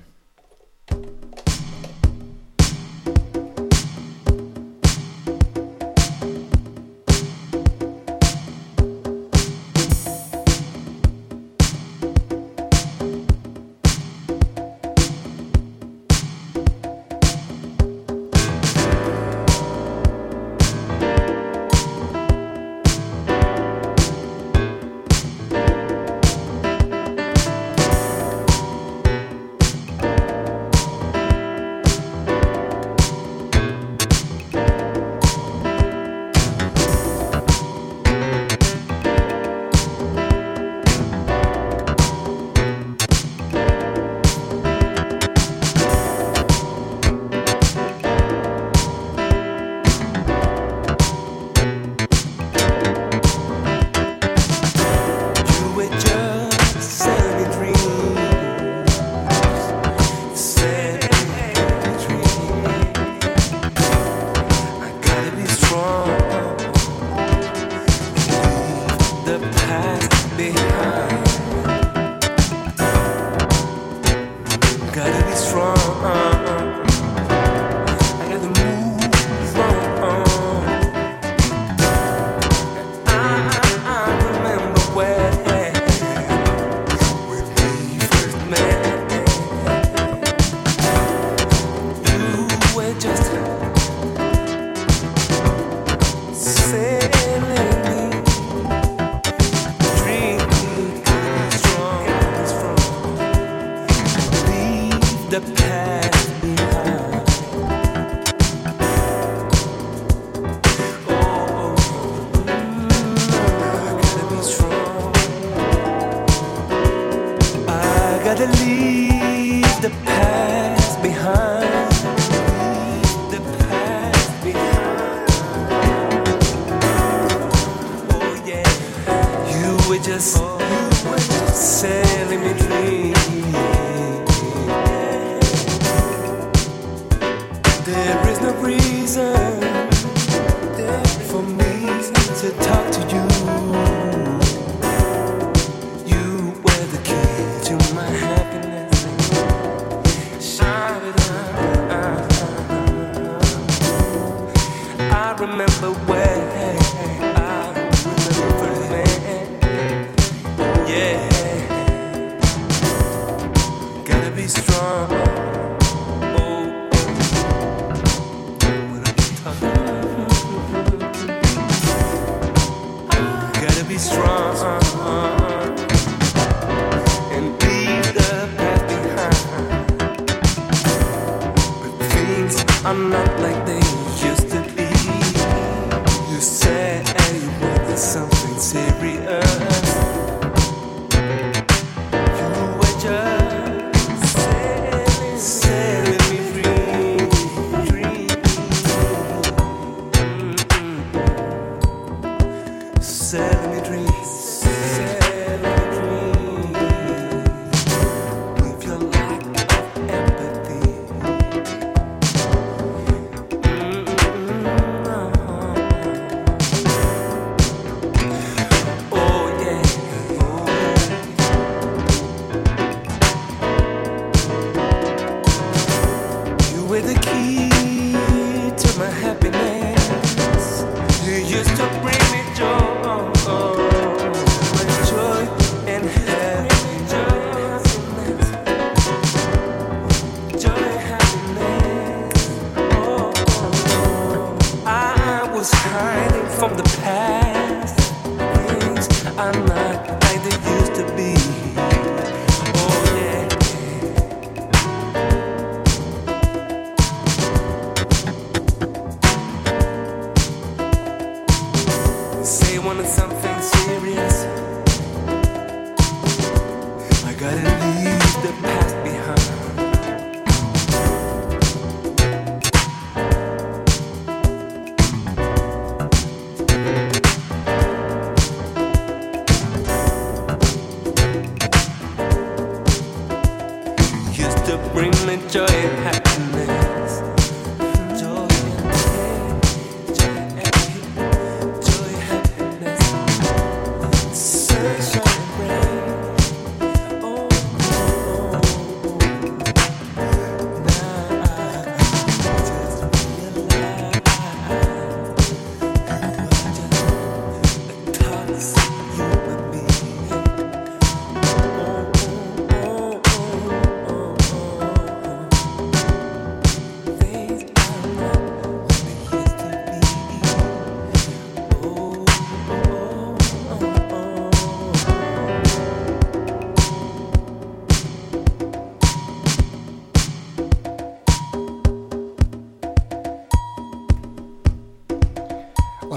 Bring me joy and happiness.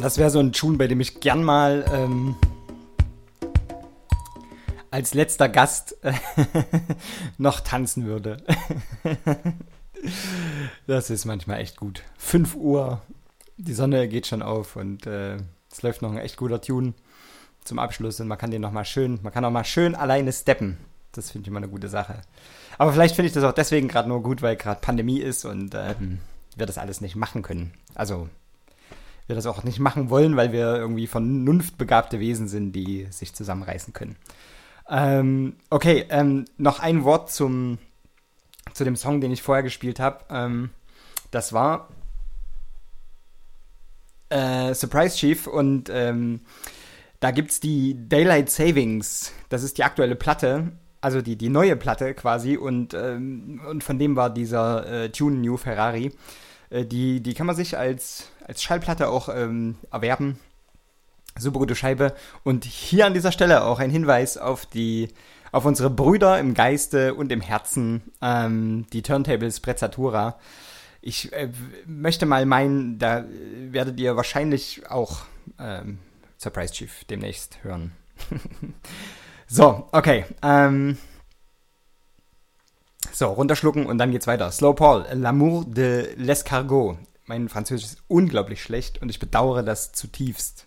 das wäre so ein Tune, bei dem ich gern mal ähm, als letzter Gast äh, noch tanzen würde. Das ist manchmal echt gut. fünf Uhr, die Sonne geht schon auf und äh, es läuft noch ein echt guter Tune zum Abschluss und man kann den noch mal schön, man kann auch mal schön alleine steppen. Das finde ich immer eine gute Sache. Aber vielleicht finde ich das auch deswegen gerade nur gut, weil gerade Pandemie ist und ähm, wir das alles nicht machen können. Also wir das auch nicht machen wollen, weil wir irgendwie vernunftbegabte Wesen sind, die sich zusammenreißen können. Ähm, okay, ähm, noch ein Wort zum zu dem Song, den ich vorher gespielt habe. Ähm, das war äh, Surprise Chief und ähm, da gibt es die Daylight Savings. Das ist die aktuelle Platte, also die, die neue Platte quasi und, ähm, und von dem war dieser äh, Tune New Ferrari. Äh, die, die kann man sich als, als Schallplatte auch ähm, erwerben. Super gute Scheibe. Und hier an dieser Stelle auch ein Hinweis auf die auf unsere Brüder im Geiste und im Herzen, ähm, die Turntables Prezzatura. Ich äh, möchte mal meinen, da werdet ihr wahrscheinlich auch ähm, Surprise Chief demnächst hören. So, okay. Ähm, so, runterschlucken und dann geht's weiter. Slow Paul, L'amour de l'escargot. Mein Französisch ist unglaublich schlecht und ich bedauere das zutiefst.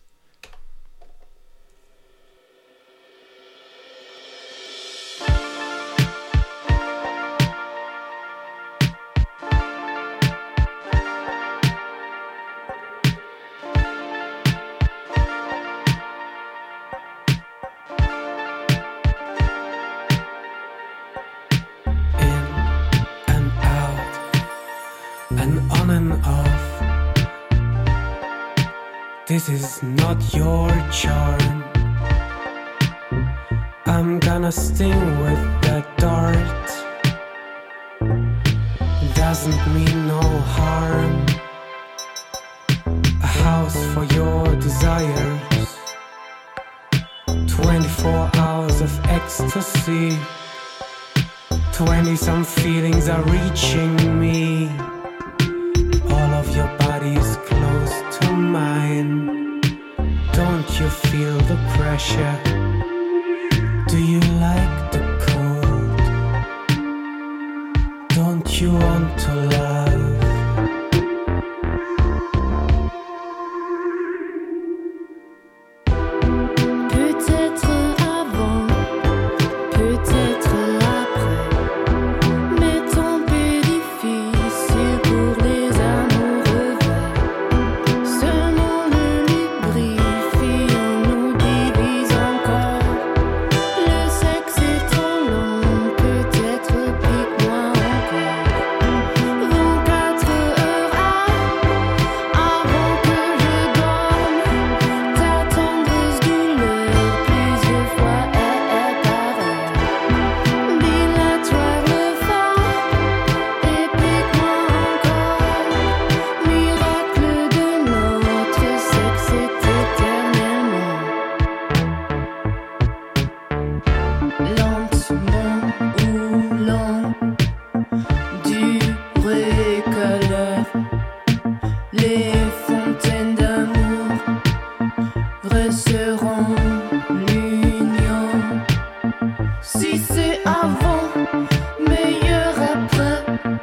This is not your charm. I'm gonna sting with that dart. Doesn't mean no harm. A house for your desires. Twenty-four hours of ecstasy. Twenty-some feelings are reaching me. All of your body is close to mine. Don't you feel the pressure? Do you like the cold? Don't you want to love? Peut-être avant, peut-être après, mais ton peu difficile pour les amoureux verts. Seulement le lubrifiant nous divise encore. Le sexe est trop long, peut-être pique-moi encore. vingt-quatre heures avant que je dorme, ta tendresse douleur plusieurs fois est pareille. Dilatoire le phare et pique-moi encore. Miracle de notre sexe est éternellement. Lentement ou lent, durée que l'heure, les fontaines d'amour resteront l'union. Si c'est avant, meilleur après.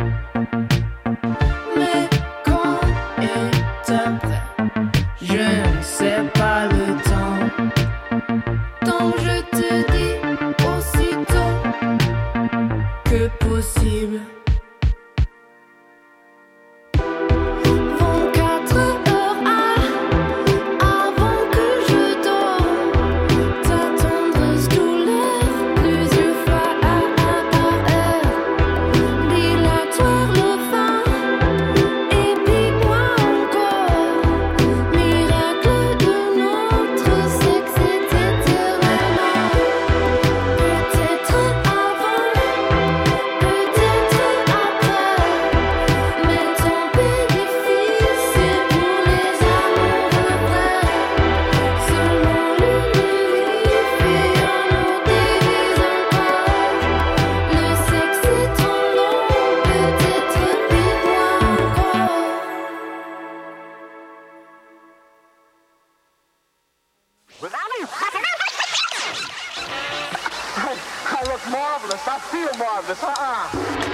Mais quand est après? Je ne sais pas le temps. Tant je te dis aussitôt que possible. vingt-quatre heures avant que je dorme, ta tendresse douleur plusieurs fois par heure. Dilatoire le phare et pique-moi encore. Miracle de notre sexe est éternellement. Peut-être avant, peut-être marvelous. I feel marvelous. Uh-uh.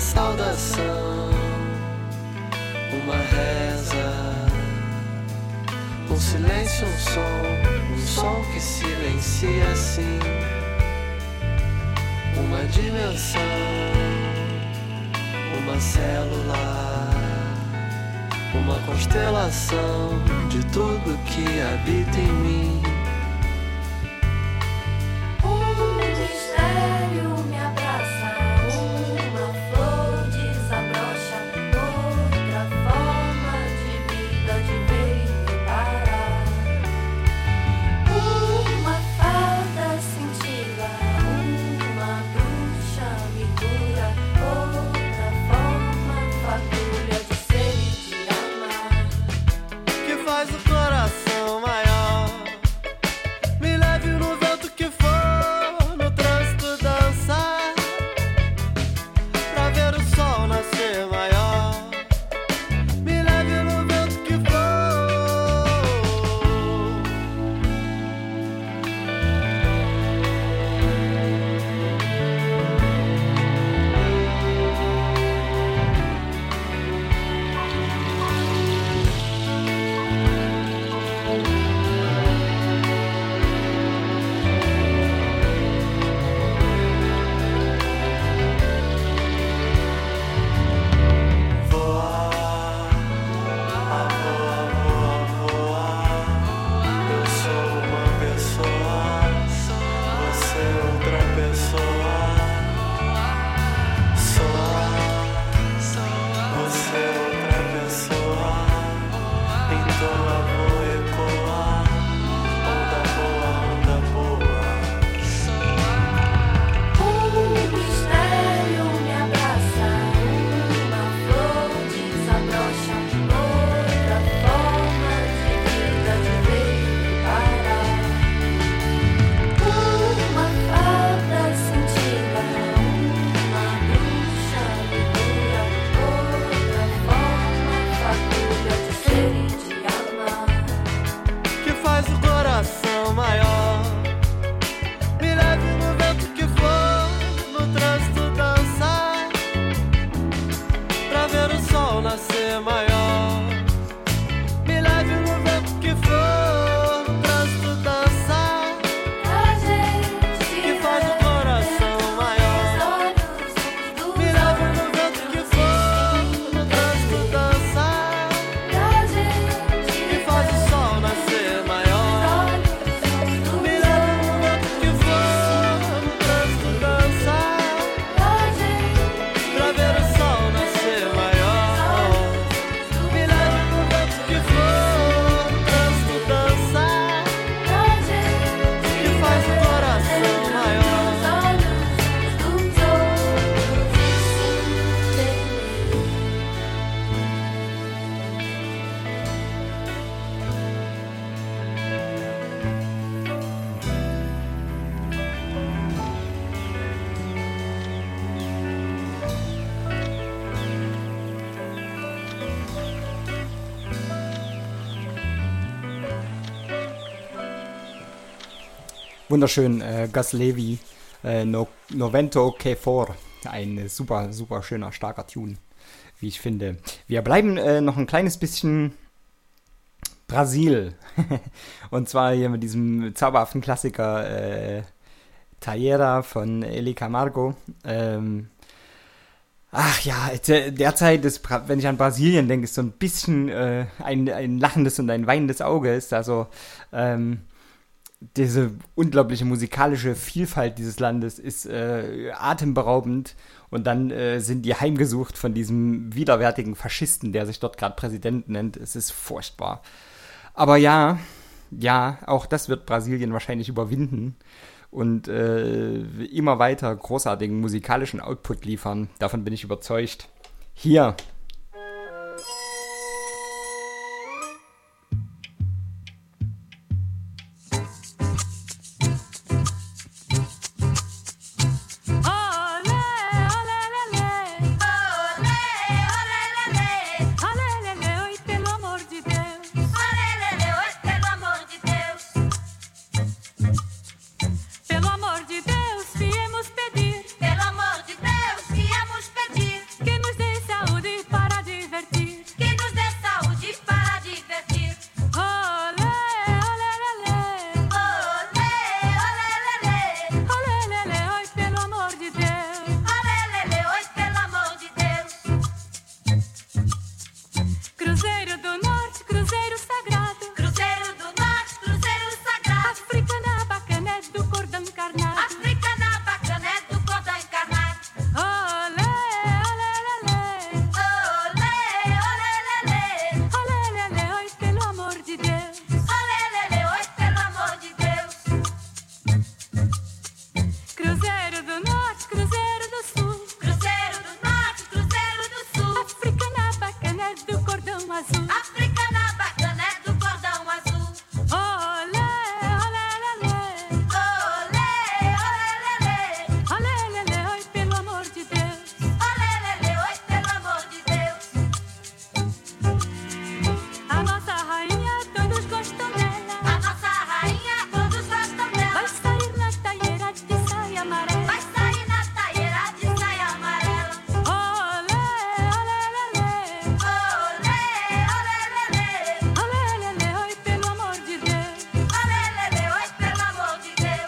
saudação, uma reza, um silêncio, um som, um som que silencia assim, uma dimensão, uma célula, uma constelação de tudo que habita em mim. Um mistério me abraça, uma flor desabrocha, outra forma de vida de veio parar. Uma fada cintila, uma bruxa me cura, outra forma fagulha de ser e de amar. Que faz o coração maior, me leve no vento que for, no trânsito dançar, pra ver o sol nascer maior. Me leve no vento que for. Voar, a voar, voar, voar. Eu sou uma pessoa, você é outra pessoa. Soar, você é outra pessoa. Então eu vou ecoar, onda boa, onda boa. Um mistério me abraça, uma flor desabrocha, outra forma de vida de veio parar. Uma fada cintila, uma bruxa me cura, outra forma fagulha de ser e de amar. Que faz o coração maior, me leve no vento que for, no trânsito dançar, pra ver o sol nascer maior. Me leve no vento que for, no trânsito dançar, A gente que faz o coração maior. Me leve no vento que for, no trânsito dançar, A gente que faz o sol nascer maior. Me leve no vento que for, no trânsito dançar, A gente pra ver o sol nascer maior. Me leve no vento que for, no trânsito dançar, A gente que faz o coração maior. olhos dos outros e se temer. Wunderschön, äh, Gus Levy, äh, no, Novento Que For. Ein super, super schöner, starker Tune, wie ich finde. Wir bleiben äh, noch ein kleines bisschen Brasil. Und zwar hier mit diesem zauberhaften Klassiker äh, Tayera von Eli Camargo. Ähm, ach ja, der- derzeit, ist, Bra- wenn ich an Brasilien denke, ist so ein bisschen äh, ein, ein lachendes und ein weinendes Auge. Ist also ähm, diese unglaubliche musikalische Vielfalt dieses Landes ist äh, atemberaubend, und dann äh, sind die heimgesucht von diesem widerwärtigen Faschisten, der sich dort gerade Präsident nennt. Es ist furchtbar. Aber ja, ja, auch das wird Brasilien wahrscheinlich überwinden und äh, immer weiter großartigen musikalischen Output liefern. Davon bin ich überzeugt. Hier. Pelo amor de Deus, pelo amor de Deus, viemos pedir. Pelo amor de Deus, viemos pedir. azul. Africana bacana é do cordão azul. Olé, olé, lelê. Olé, olé, lelê. Olé, lelê, oi, pelo amor de Deus. Olé, lelê, oi, pelo amor de Deus. A nossa rainha, todos gostam dela. A nossa rainha, todos gostam dela. Vai sair na taieira de saia amarela. Vai sair na taieira de saia amarela. Olé, olé, lelê. Olé, olé, lelê. Olé, lelê, oi, pelo amor de Deus. Olé, lelê, oi, pelo amor de Deus.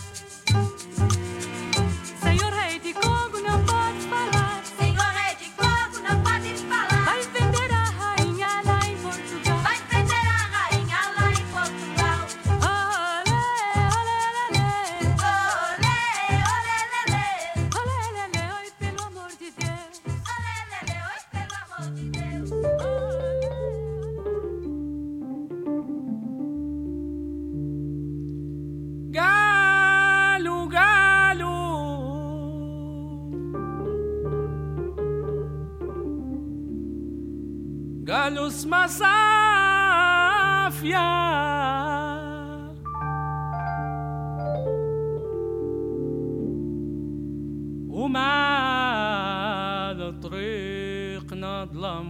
Senhor rei de Congo, não pode falar. Senhor rei de Congo, não pode falar. Vai vender a rainha lá em Portugal. Vai vender a rainha lá em Portugal. Olé, olé, lelê. Olé, olé, lelê. Olé, lelê, oi, pelo amor de Deus. Olé, lelê, oi, pelo amor de Deus. Galo, galo, galos masafia, وما طريقنا ظلم.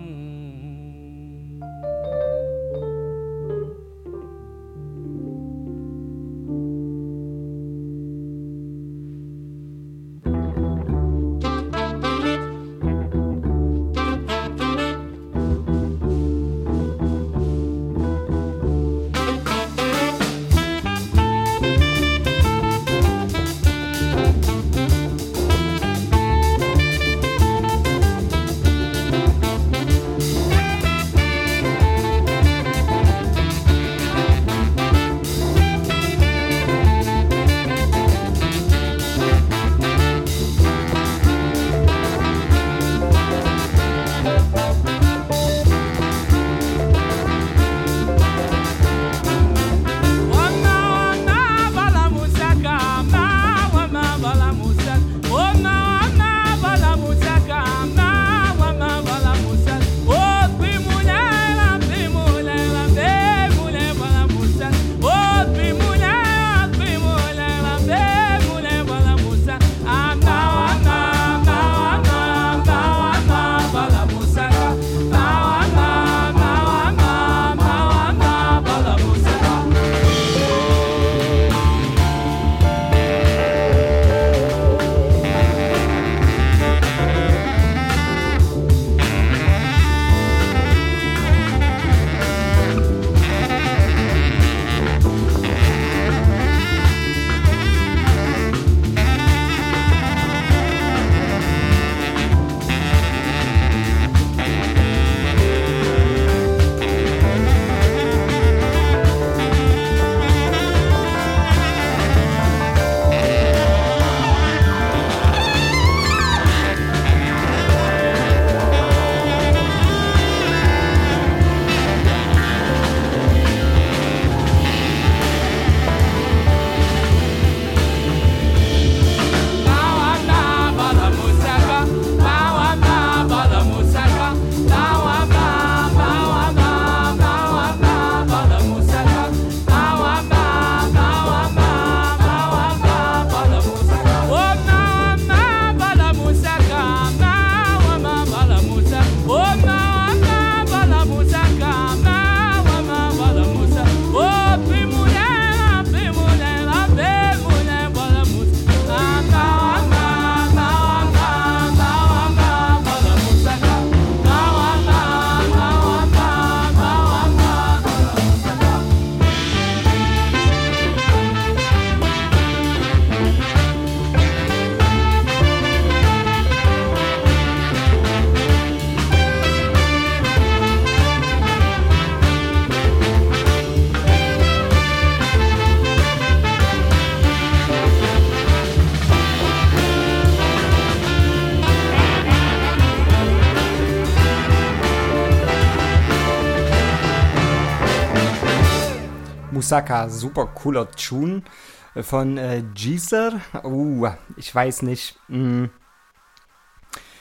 Moussaka, super cooler Tune von äh, Geezer. Uh, ich weiß nicht. Mm.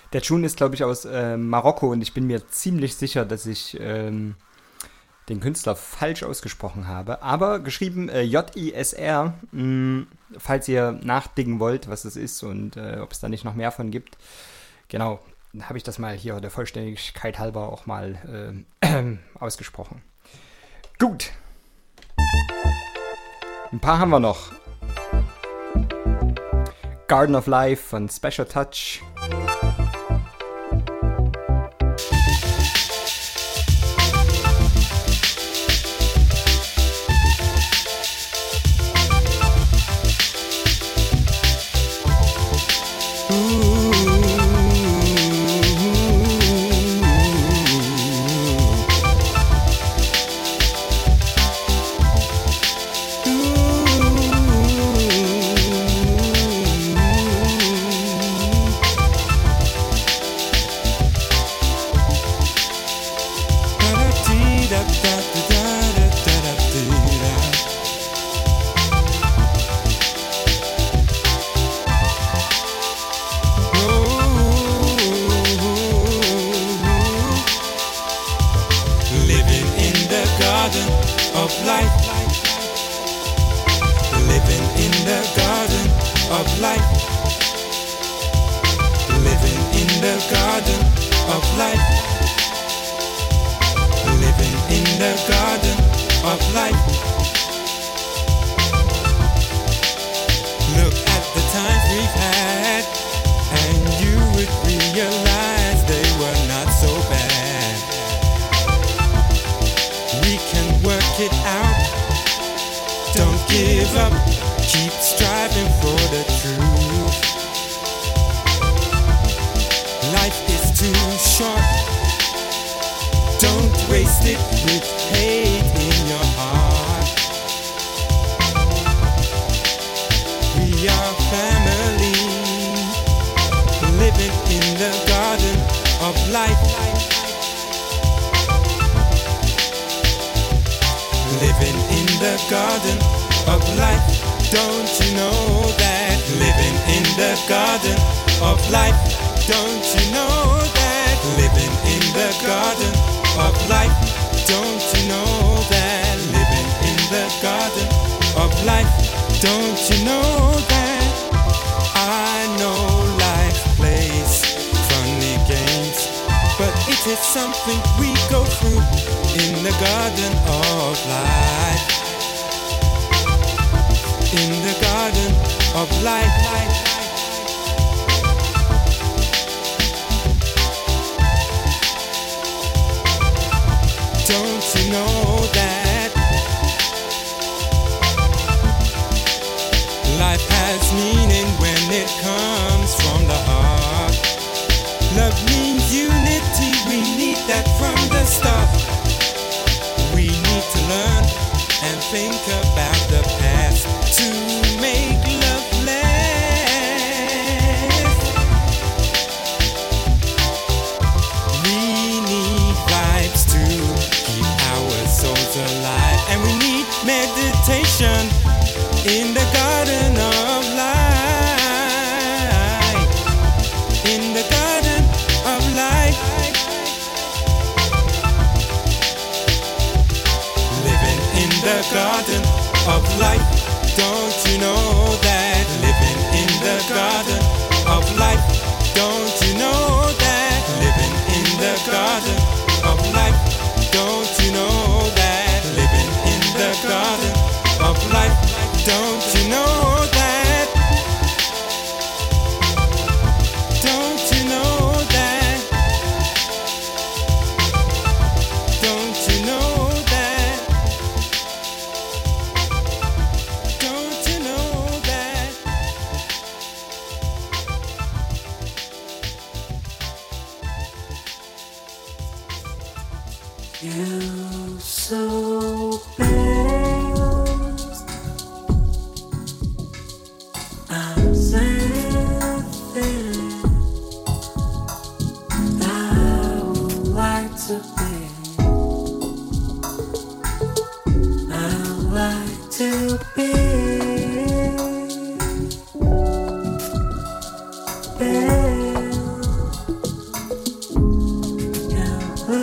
Der Tune ist, glaube ich, aus äh, Marokko und ich bin mir ziemlich sicher, dass ich ähm, den Künstler falsch ausgesprochen habe. Aber geschrieben äh, J I S R, mh, falls ihr nachdenken wollt, was es ist und äh, ob es da nicht noch mehr von gibt. Genau, habe ich das mal hier der Vollständigkeit halber auch mal äh, ausgesprochen. Gut. Ein paar haben wir noch. Garden of Life von Special Touch.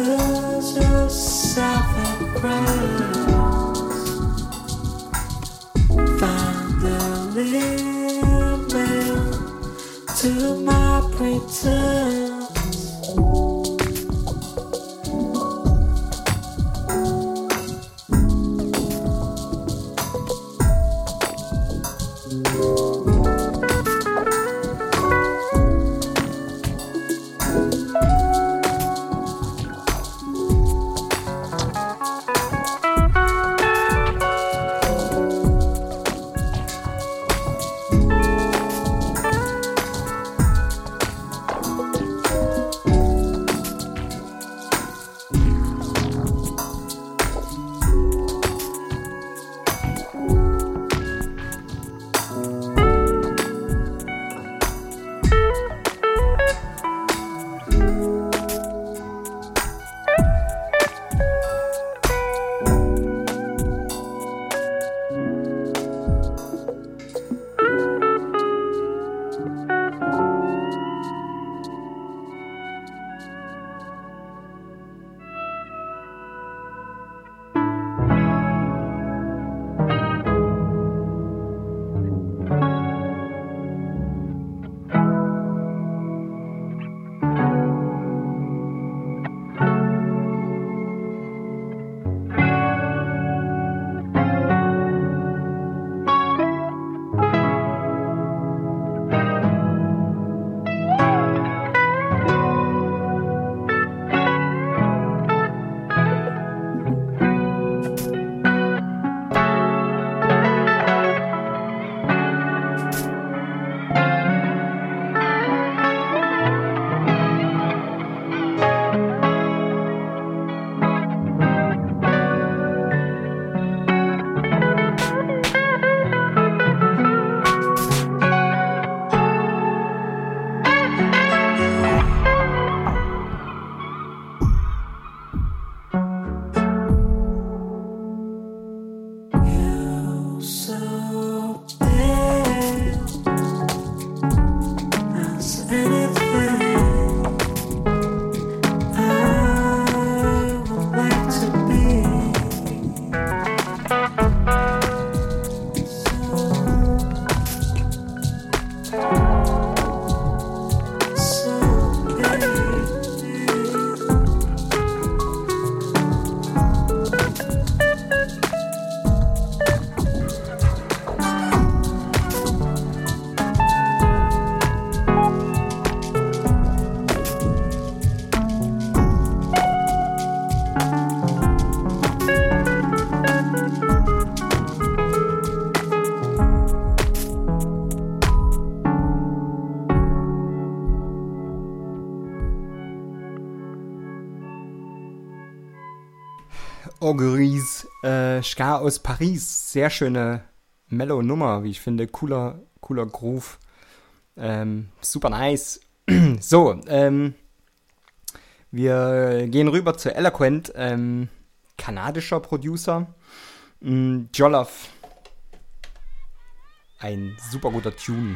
lose yourself in grass. Find the limit to my pretense. Auguries, äh, Ska aus Paris. Sehr schöne Mellow-Nummer, wie ich finde. Cooler, cooler Groove. Ähm, super nice. So, ähm, wir gehen rüber zu Eloquent, ähm, kanadischer Producer. Mm, Jollof. Ein super guter Tune.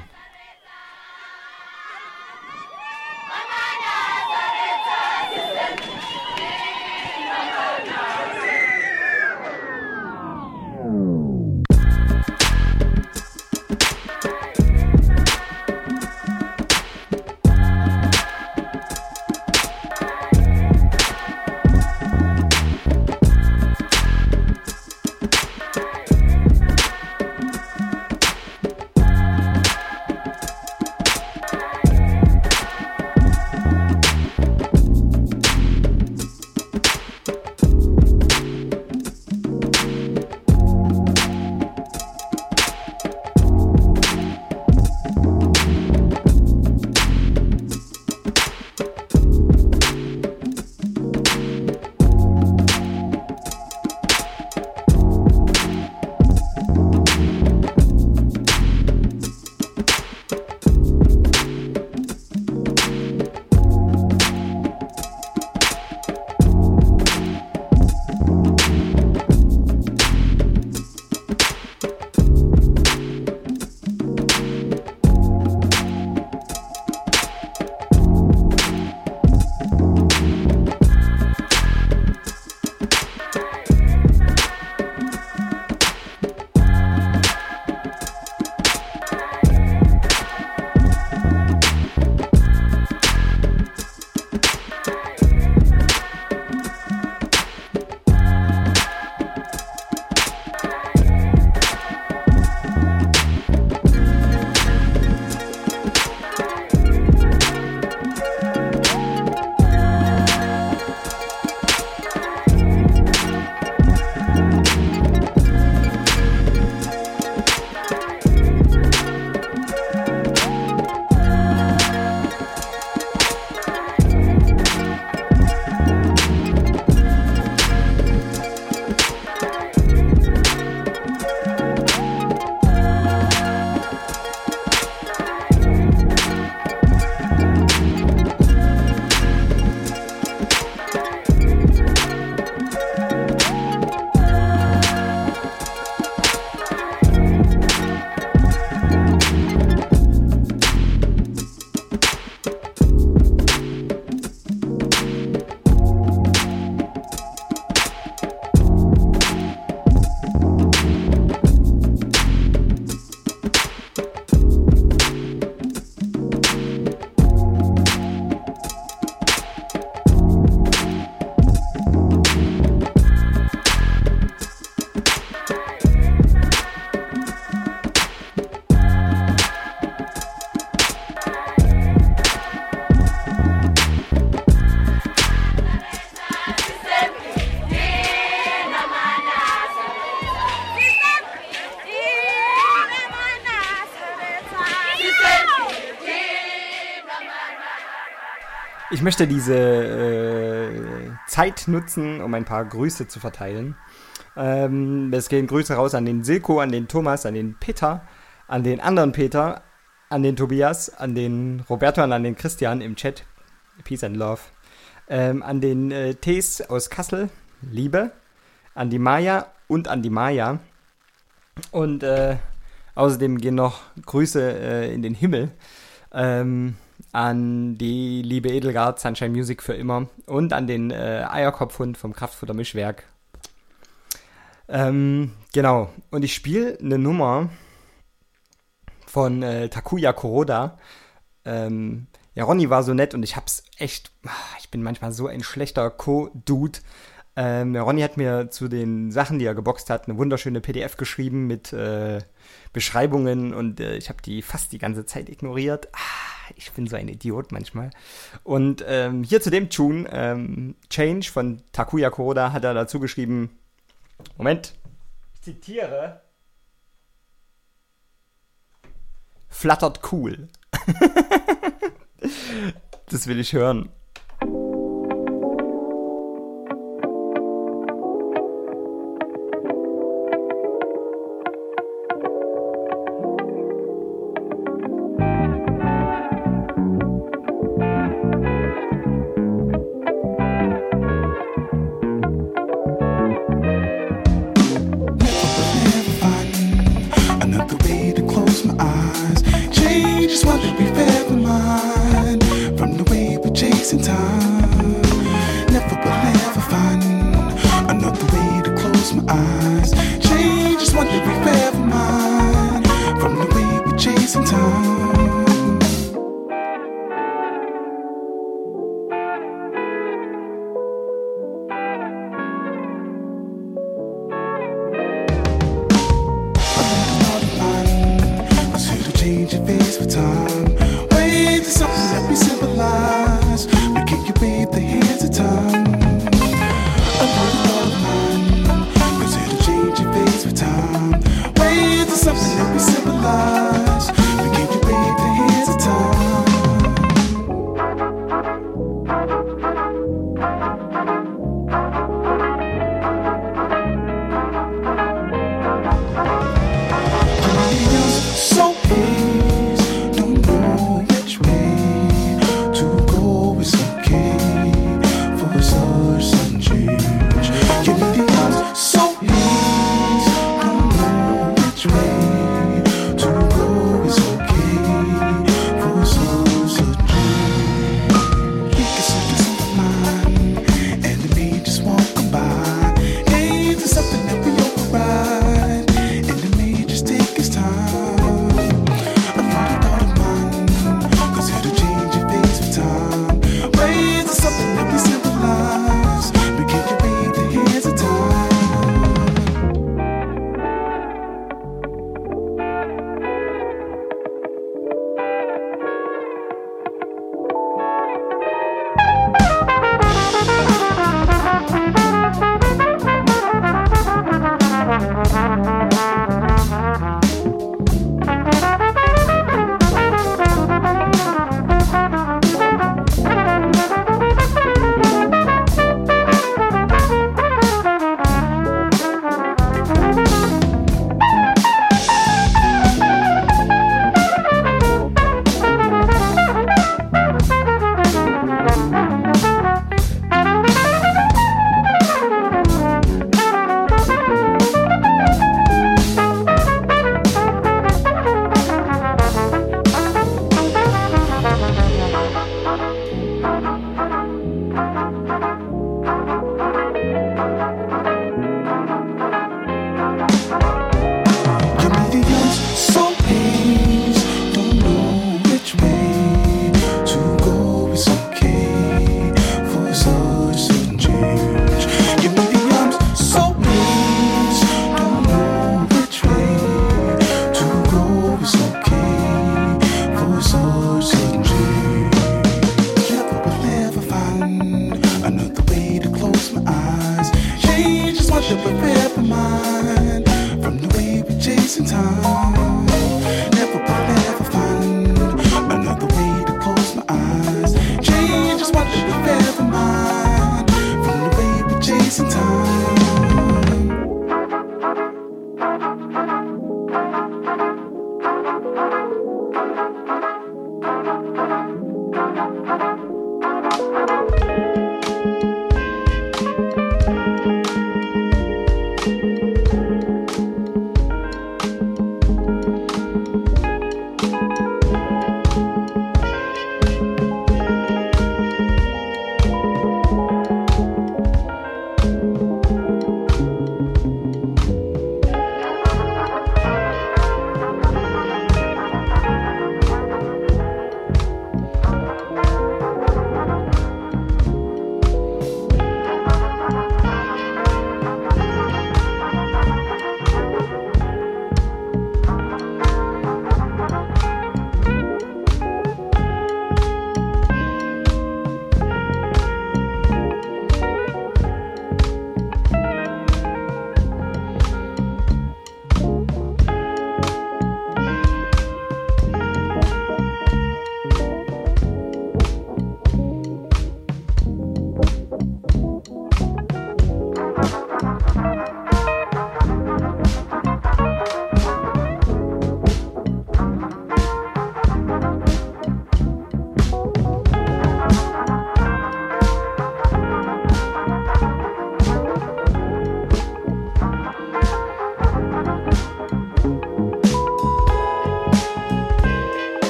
ich möchte diese äh, Zeit nutzen, um ein paar Grüße zu verteilen. Ähm, es gehen Grüße raus an den Silko, an den Thomas, an den Peter, an den anderen Peter, an den Tobias, an den Roberto und an den Christian im Chat. Peace and Love. Ähm, an den äh, Tees aus Kassel, Liebe. An die Maya und an die Maya. Und äh, außerdem gehen noch Grüße äh, in den Himmel. Ähm, an die liebe Edelgard, Sunshine Music für immer. Und an den äh, Eierkopfhund vom Kraftfuttermischwerk. Ähm, genau. Und ich spiele eine Nummer von äh, Takuya Kuroda. Ähm, ja, Ronny war so nett und ich hab's echt, ich bin manchmal so ein schlechter Co-Dude. Ähm, der Ronny hat mir zu den Sachen, die er geboxt hat, eine wunderschöne P D F geschrieben mit äh, Beschreibungen und äh, ich habe die fast die ganze Zeit ignoriert. Ah, ich bin so ein Idiot manchmal. Und ähm, hier zu dem Tune, ähm, Change von Takuya Kuroda, hat er dazu geschrieben, Moment, ich zitiere, flattert cool. Das will ich hören.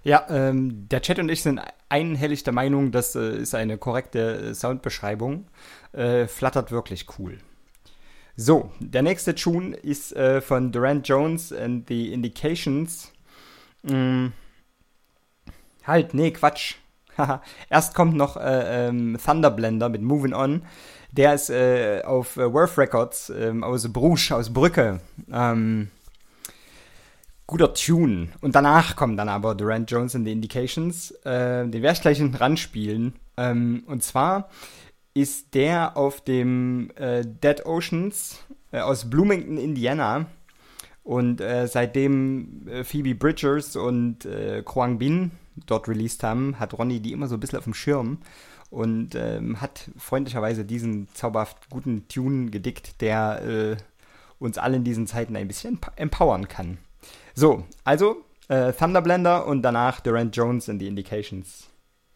Ja, ähm, der Chat und ich sind einhellig der Meinung, das äh, ist eine korrekte äh, Soundbeschreibung. Äh, flattert wirklich cool. So, der nächste Tune ist äh, von Durant Jones and the Indications. Mm, halt, nee, Quatsch. Erst kommt noch äh, ähm, Thunderblender mit Moving On. Der ist äh, auf äh, Worth Records äh, aus Bruges, aus Brücke. Ähm, guter Tune. Und danach kommen dann aber Durant Jones and the Indications. Äh, den werde ich gleich hinten ran spielen. Ähm, und zwar ist der auf dem äh, Dead Oceans äh, aus Bloomington, Indiana. Und äh, seitdem äh, Phoebe Bridgers und äh, Kwang Bin dort released haben, hat Ronny die immer so ein bisschen auf dem Schirm und ähm, hat freundlicherweise diesen zauberhaft guten Tune gedickt, der äh, uns alle in diesen Zeiten ein bisschen empowern kann. So, also äh, Thunderblender und danach Durant Jones and the Indications.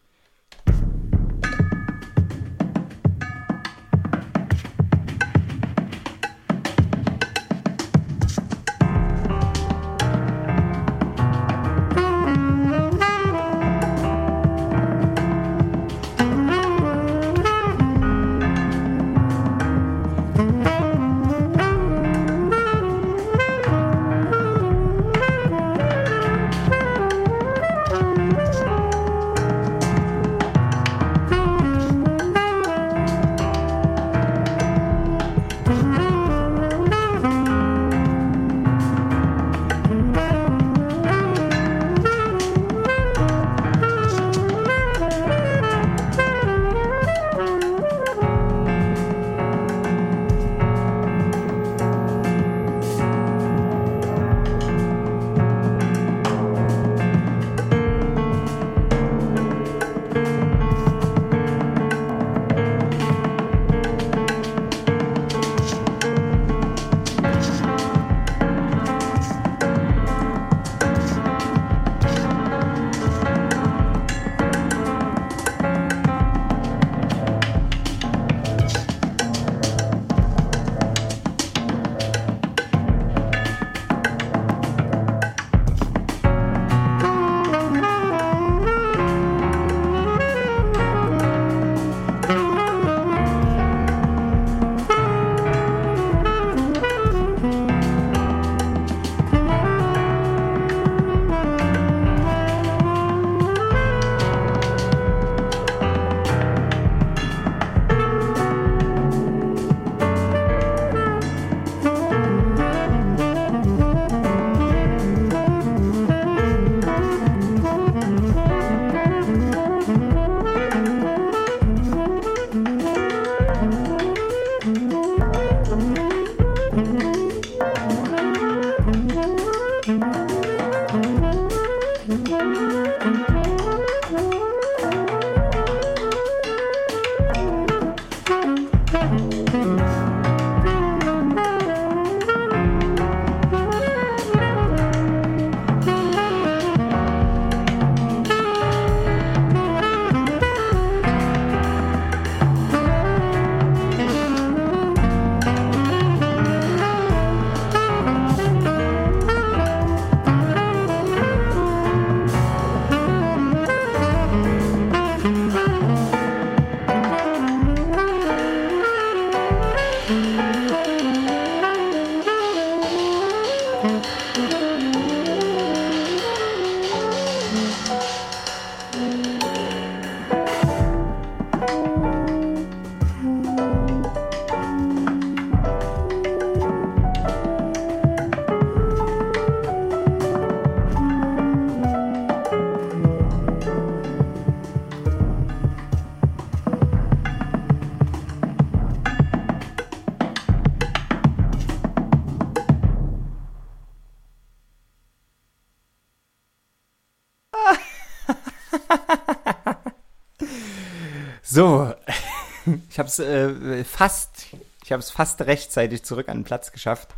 So, ich habe es äh, fast, ich habe es fast rechtzeitig zurück an den Platz geschafft.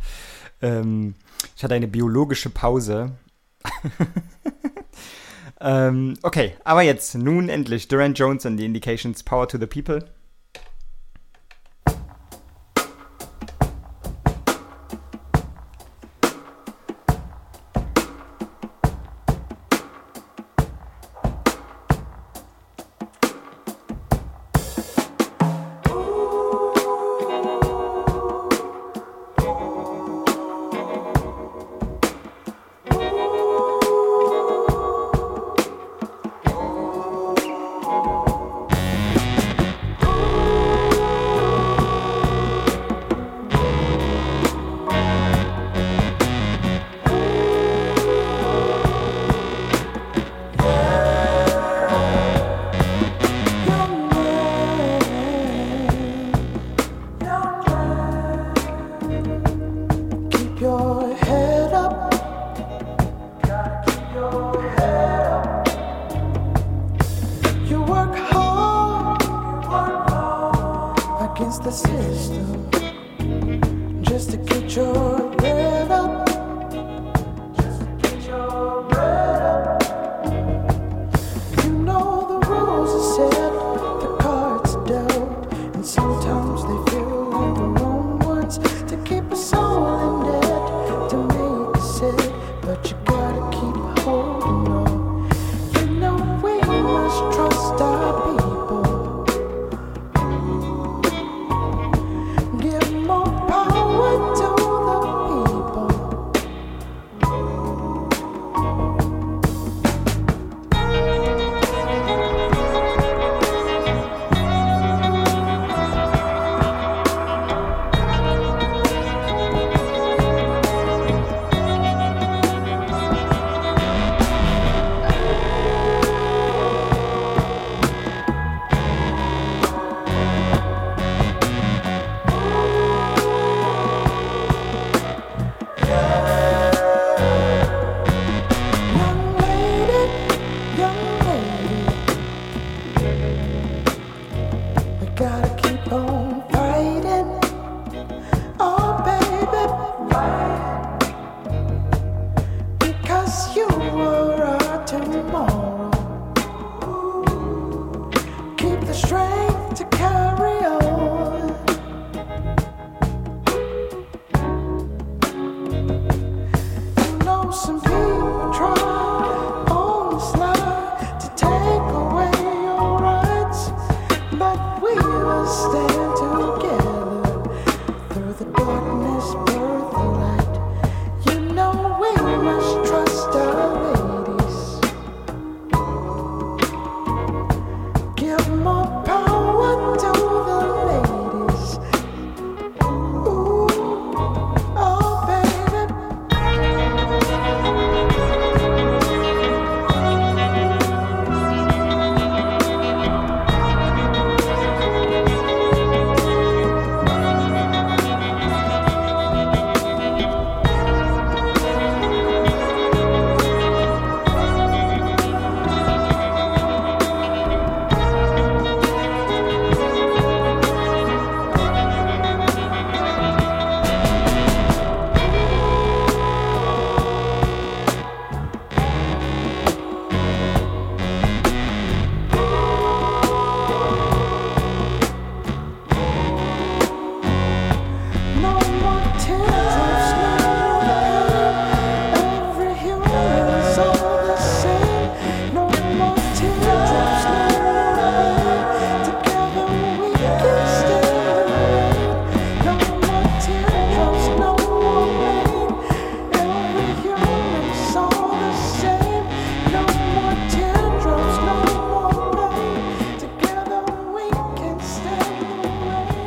Ähm, ich hatte eine biologische Pause. ähm, okay, aber jetzt, nun endlich, Durant Jones and the Indications, Power to the People. get your bread up. Just get your bread up. You know the rules are set, the cards are dealt, and sometimes they feel like the wrong ones to keep us all in debt, to make us sit, but you gotta keep holding on. You know we must trust our people. Give more power to the people. Young lady, young lady, we gotta keep on fighting. Oh, baby, fight. Because you are our tomorrow. Keep the strength to carry on. You know some people try on the slide to take away your rights, but we will stand together through the darkness, birth the light. You know we must trust our ladies. Give more power to the ladies. Ooh, oh baby. No more teardrops, no more pain. Every human is all the same. No more teardrops, no more pain. Together we can stand the rain. No more teardrops, no more pain. Every human is all the same. No more teardrops, no more pain. Together we can stand the rain.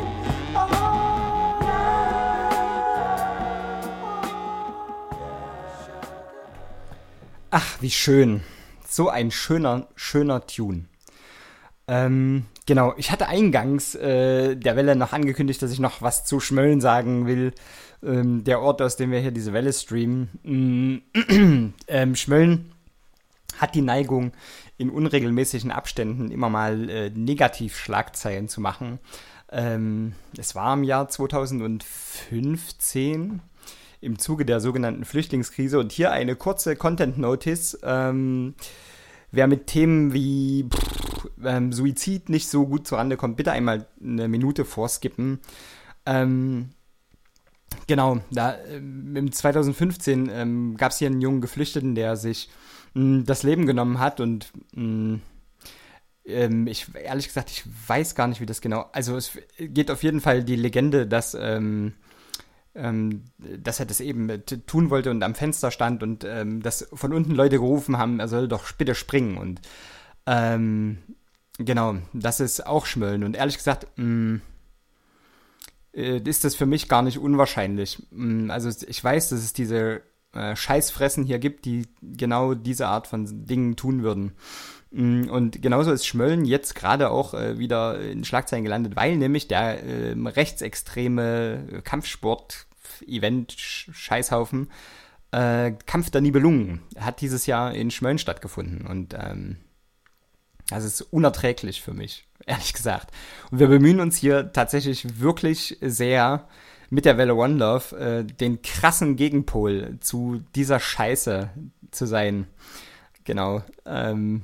Ach, wie schön. So ein schöner, schöner Tune. Ähm, genau, ich hatte eingangs äh, der Welle noch angekündigt, dass ich noch was zu Schmölln sagen will. Ähm, der Ort, aus dem wir hier diese Welle streamen. Mm, ähm, Schmölln hat die Neigung, in unregelmäßigen Abständen immer mal äh, Negativschlagzeilen zu machen. Ähm, es war im Jahr zweitausendfünfzehn im Zuge der sogenannten Flüchtlingskrise. Und hier eine kurze Content-Notice. Ähm, wer mit Themen wie pff, ähm, Suizid nicht so gut zurande kommt, bitte einmal eine Minute vorskippen. Ähm, genau, da ähm, im zweitausendfünfzehn ähm, gab es hier einen jungen Geflüchteten, der sich mh, das Leben genommen hat. Und mh, ähm, ich, ehrlich gesagt, ich weiß gar nicht, wie das genau... Also es geht auf jeden Fall die Legende, dass... Ähm, Ähm, dass er das eben t- tun wollte und am Fenster stand und ähm, dass von unten Leute gerufen haben, er soll doch bitte springen. Und ähm, genau, das ist auch Schmölln. Und ehrlich gesagt, mh, äh, ist das für mich gar nicht unwahrscheinlich. Mh, also ich weiß, dass es diese äh, Scheißfressen hier gibt, die genau diese Art von Dingen tun würden. Mh, und genauso ist Schmölln jetzt gerade auch äh, wieder in Schlagzeilen gelandet, weil nämlich der äh, rechtsextreme Kampfsport-Event-Scheißhaufen äh, Kampf der Nibelungen hat dieses Jahr in Schmölln stattgefunden. Und ähm, das ist unerträglich für mich, ehrlich gesagt. Und wir bemühen uns hier tatsächlich wirklich sehr, mit der Welle One Love äh, den krassen Gegenpol zu dieser Scheiße zu sein. Genau. Ähm,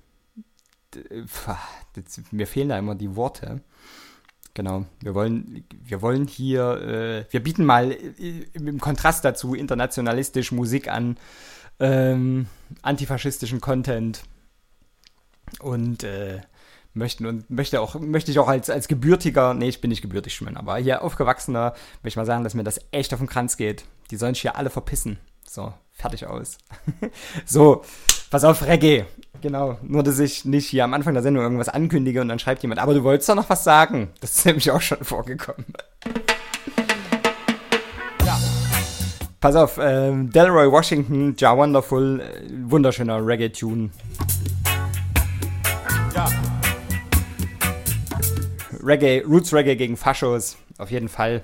das, mir fehlen da immer die Worte. Genau. Wir wollen, wir wollen hier, äh, wir bieten mal äh, im Kontrast dazu internationalistisch Musik an, ähm, antifaschistischen Content und äh, möchten und möchte auch möchte ich auch als als gebürtiger, nee, ich bin nicht gebürtig schwimmen, aber hier aufgewachsener, möchte ich mal sagen, dass mir das echt auf den Kranz geht. Die sollen sich hier alle verpissen. So, fertig aus. So, pass auf, Reggae. Genau, nur dass ich nicht hier am Anfang der Sendung irgendwas ankündige und dann schreibt jemand, aber du wolltest doch noch was sagen. Das ist nämlich auch schon vorgekommen. Ja. Pass auf, ähm, Delroy Washington, Ja Wonderful, äh, wunderschöner Reggae-Tune. Ja. Reggae, Roots Reggae gegen Faschos, auf jeden Fall.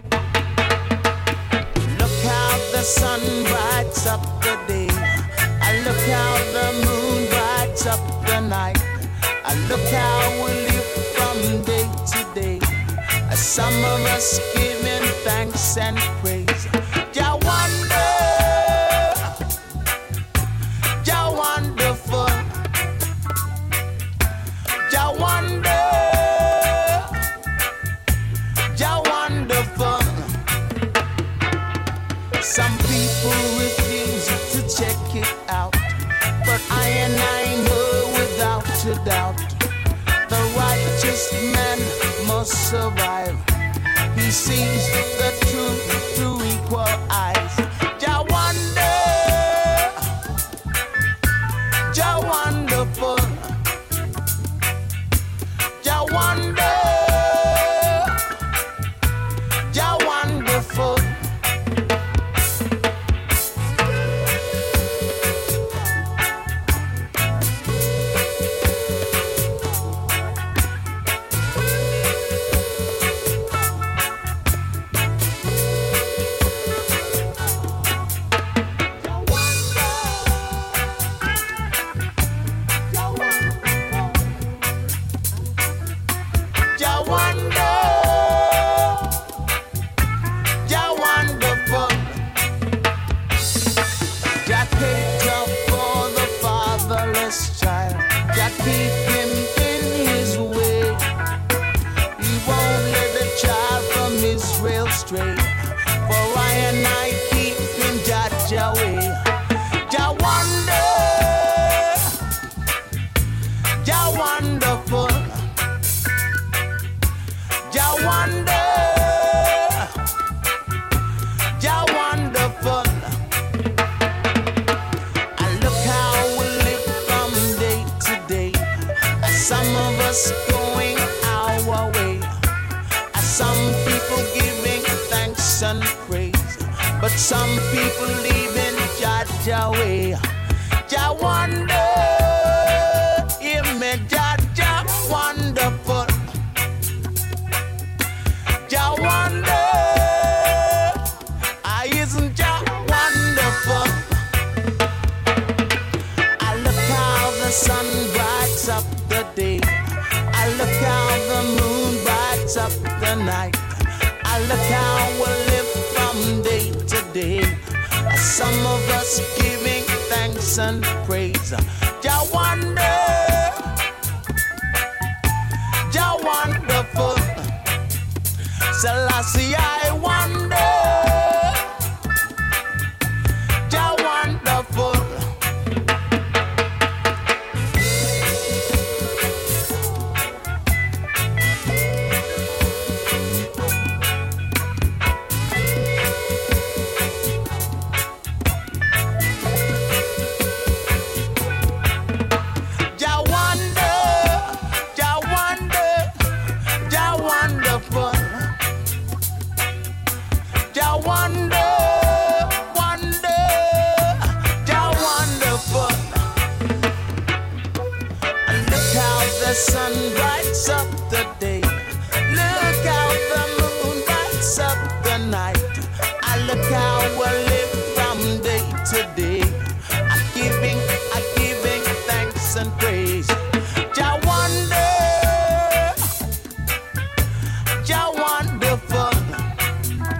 Look how the sun brights up the day. I look how the moon brights up the night. I look how we live from day to day. Some of us giving thanks and praise. Ja wonder, ja wonderful, ja wonder. Some people refuse to check it out, but I and I know without a doubt, the righteous man must survive. He sees the truth through equal eyes. Ja wonder, ja wonderful, ja wonder, ja wonderful. Some people leaving Jaja way. Ja wonder, yeah, me Jaja wonderful. Ja wonder, I isn't Ja wonderful. I look how the sun brights up the day. I look how the moon brights up the night. I look how we live from day to day. Some of us giving thanks and praise. Ja wonder, ja wonderful. Selassie, I wonder, ja wonderful. The sun brights up the day. Look how the moon brights up the night. I look how we live from day to day. I'm giving, I'm giving thanks and praise. Ja wonder, ja wonderful.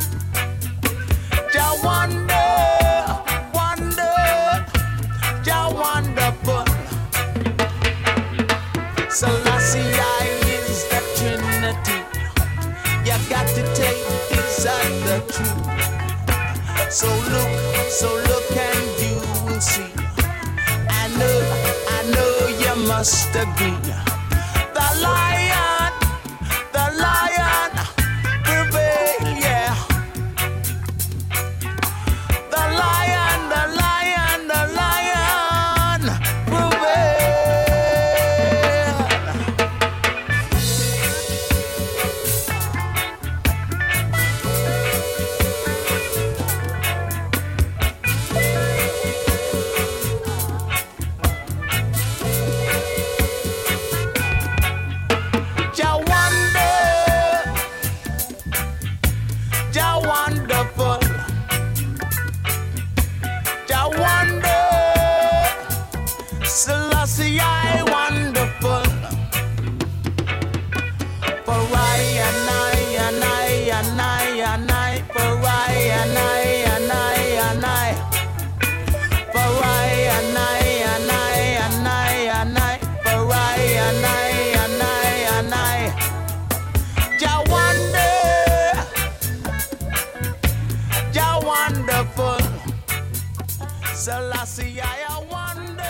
So look, so look and you will see. I know, I know you must agree. The lion, the lion prevail, yeah. The lion, the lion, the lion prevail. Jah wonder, Jah wonderful, Jah wonder, Selassie I wonderful. For I and I and I and I and I, for I and I and I and I, for I and I and I and I and I, for I and I and I and I. Jah wonder, Jah wonderful, Selassie I wonder.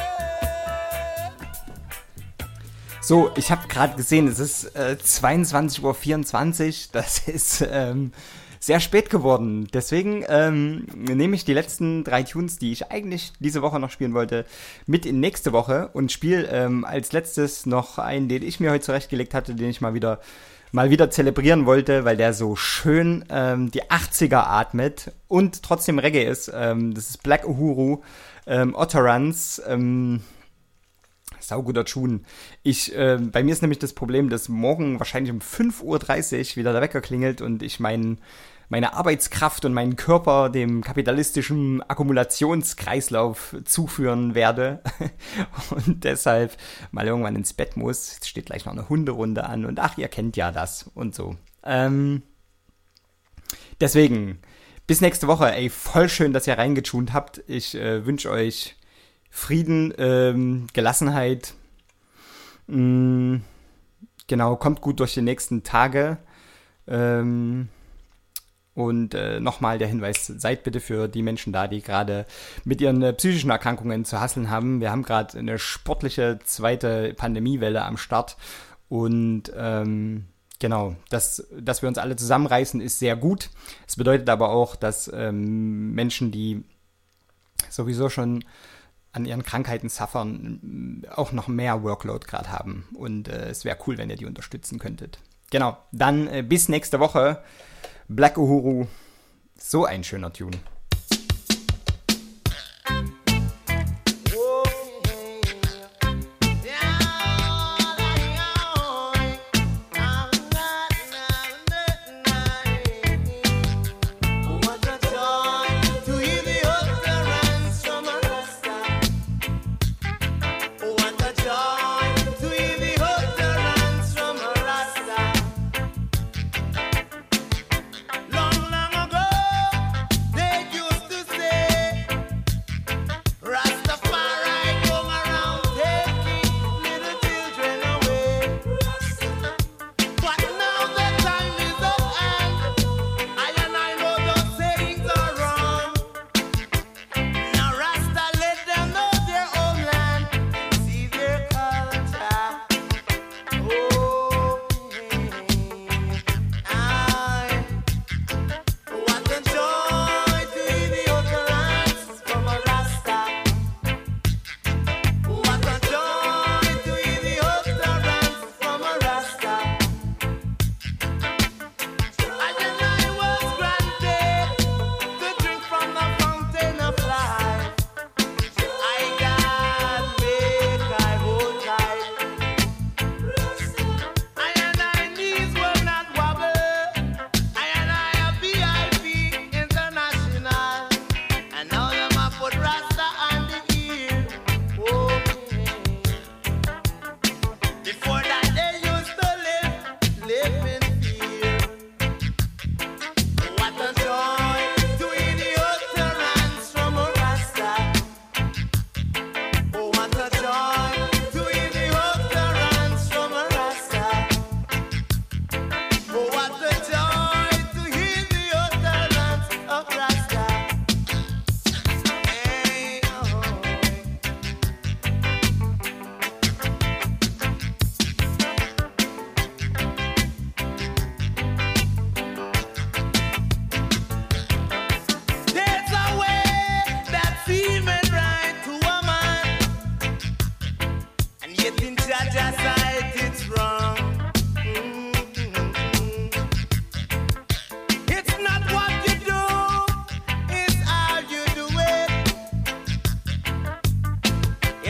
So, ich habe gerade gesehen, es ist äh, zweiundzwanzig Uhr vierundzwanzig. Das ist ähm, sehr spät geworden. Deswegen ähm, nehme ich die letzten drei Tunes, die ich eigentlich diese Woche noch spielen wollte, mit in nächste Woche und spiele ähm, als letztes noch einen, den ich mir heute zurechtgelegt hatte, den ich mal wieder mal wieder zelebrieren wollte, weil der so schön ähm, die achtziger atmet und trotzdem Reggae ist. Ähm, das ist Black Uhuru, ähm, Otterans, ähm, sauguter Tune. Ich, äh, bei mir ist nämlich das Problem, dass morgen wahrscheinlich um fünf Uhr dreißig wieder der Wecker klingelt und ich mein, meine Arbeitskraft und meinen Körper dem kapitalistischen Akkumulationskreislauf zuführen werde und deshalb mal irgendwann ins Bett muss. Jetzt steht gleich noch eine Hunderunde an und ach, ihr kennt ja das und so. Ähm, deswegen, bis nächste Woche. Ey, voll schön, dass ihr reingetunt habt. Ich äh, wünsche euch Frieden, ähm, Gelassenheit. Mh, genau, kommt gut durch die nächsten Tage. Ähm, und äh, nochmal der Hinweis, seid bitte für die Menschen da, die gerade mit ihren äh, psychischen Erkrankungen zu hasseln haben. Wir haben gerade eine sportliche zweite Pandemiewelle am Start. Und ähm, genau, dass, dass wir uns alle zusammenreißen, ist sehr gut. Es bedeutet aber auch, dass ähm, Menschen, die sowieso schon an ihren Krankheiten suffern, auch noch mehr Workload gerade haben. Und äh, es wäre cool, wenn ihr die unterstützen könntet. Genau, dann äh, bis nächste Woche. Black Uhuru, so ein schöner Tune. Long, long ago, they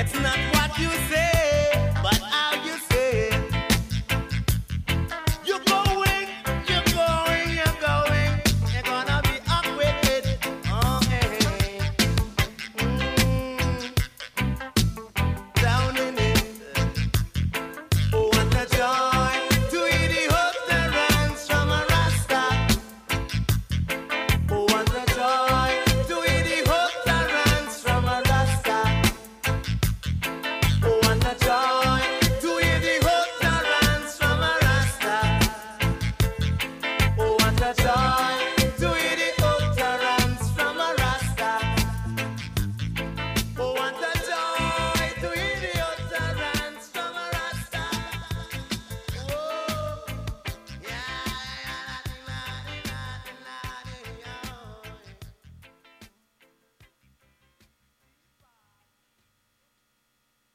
It's not what you say.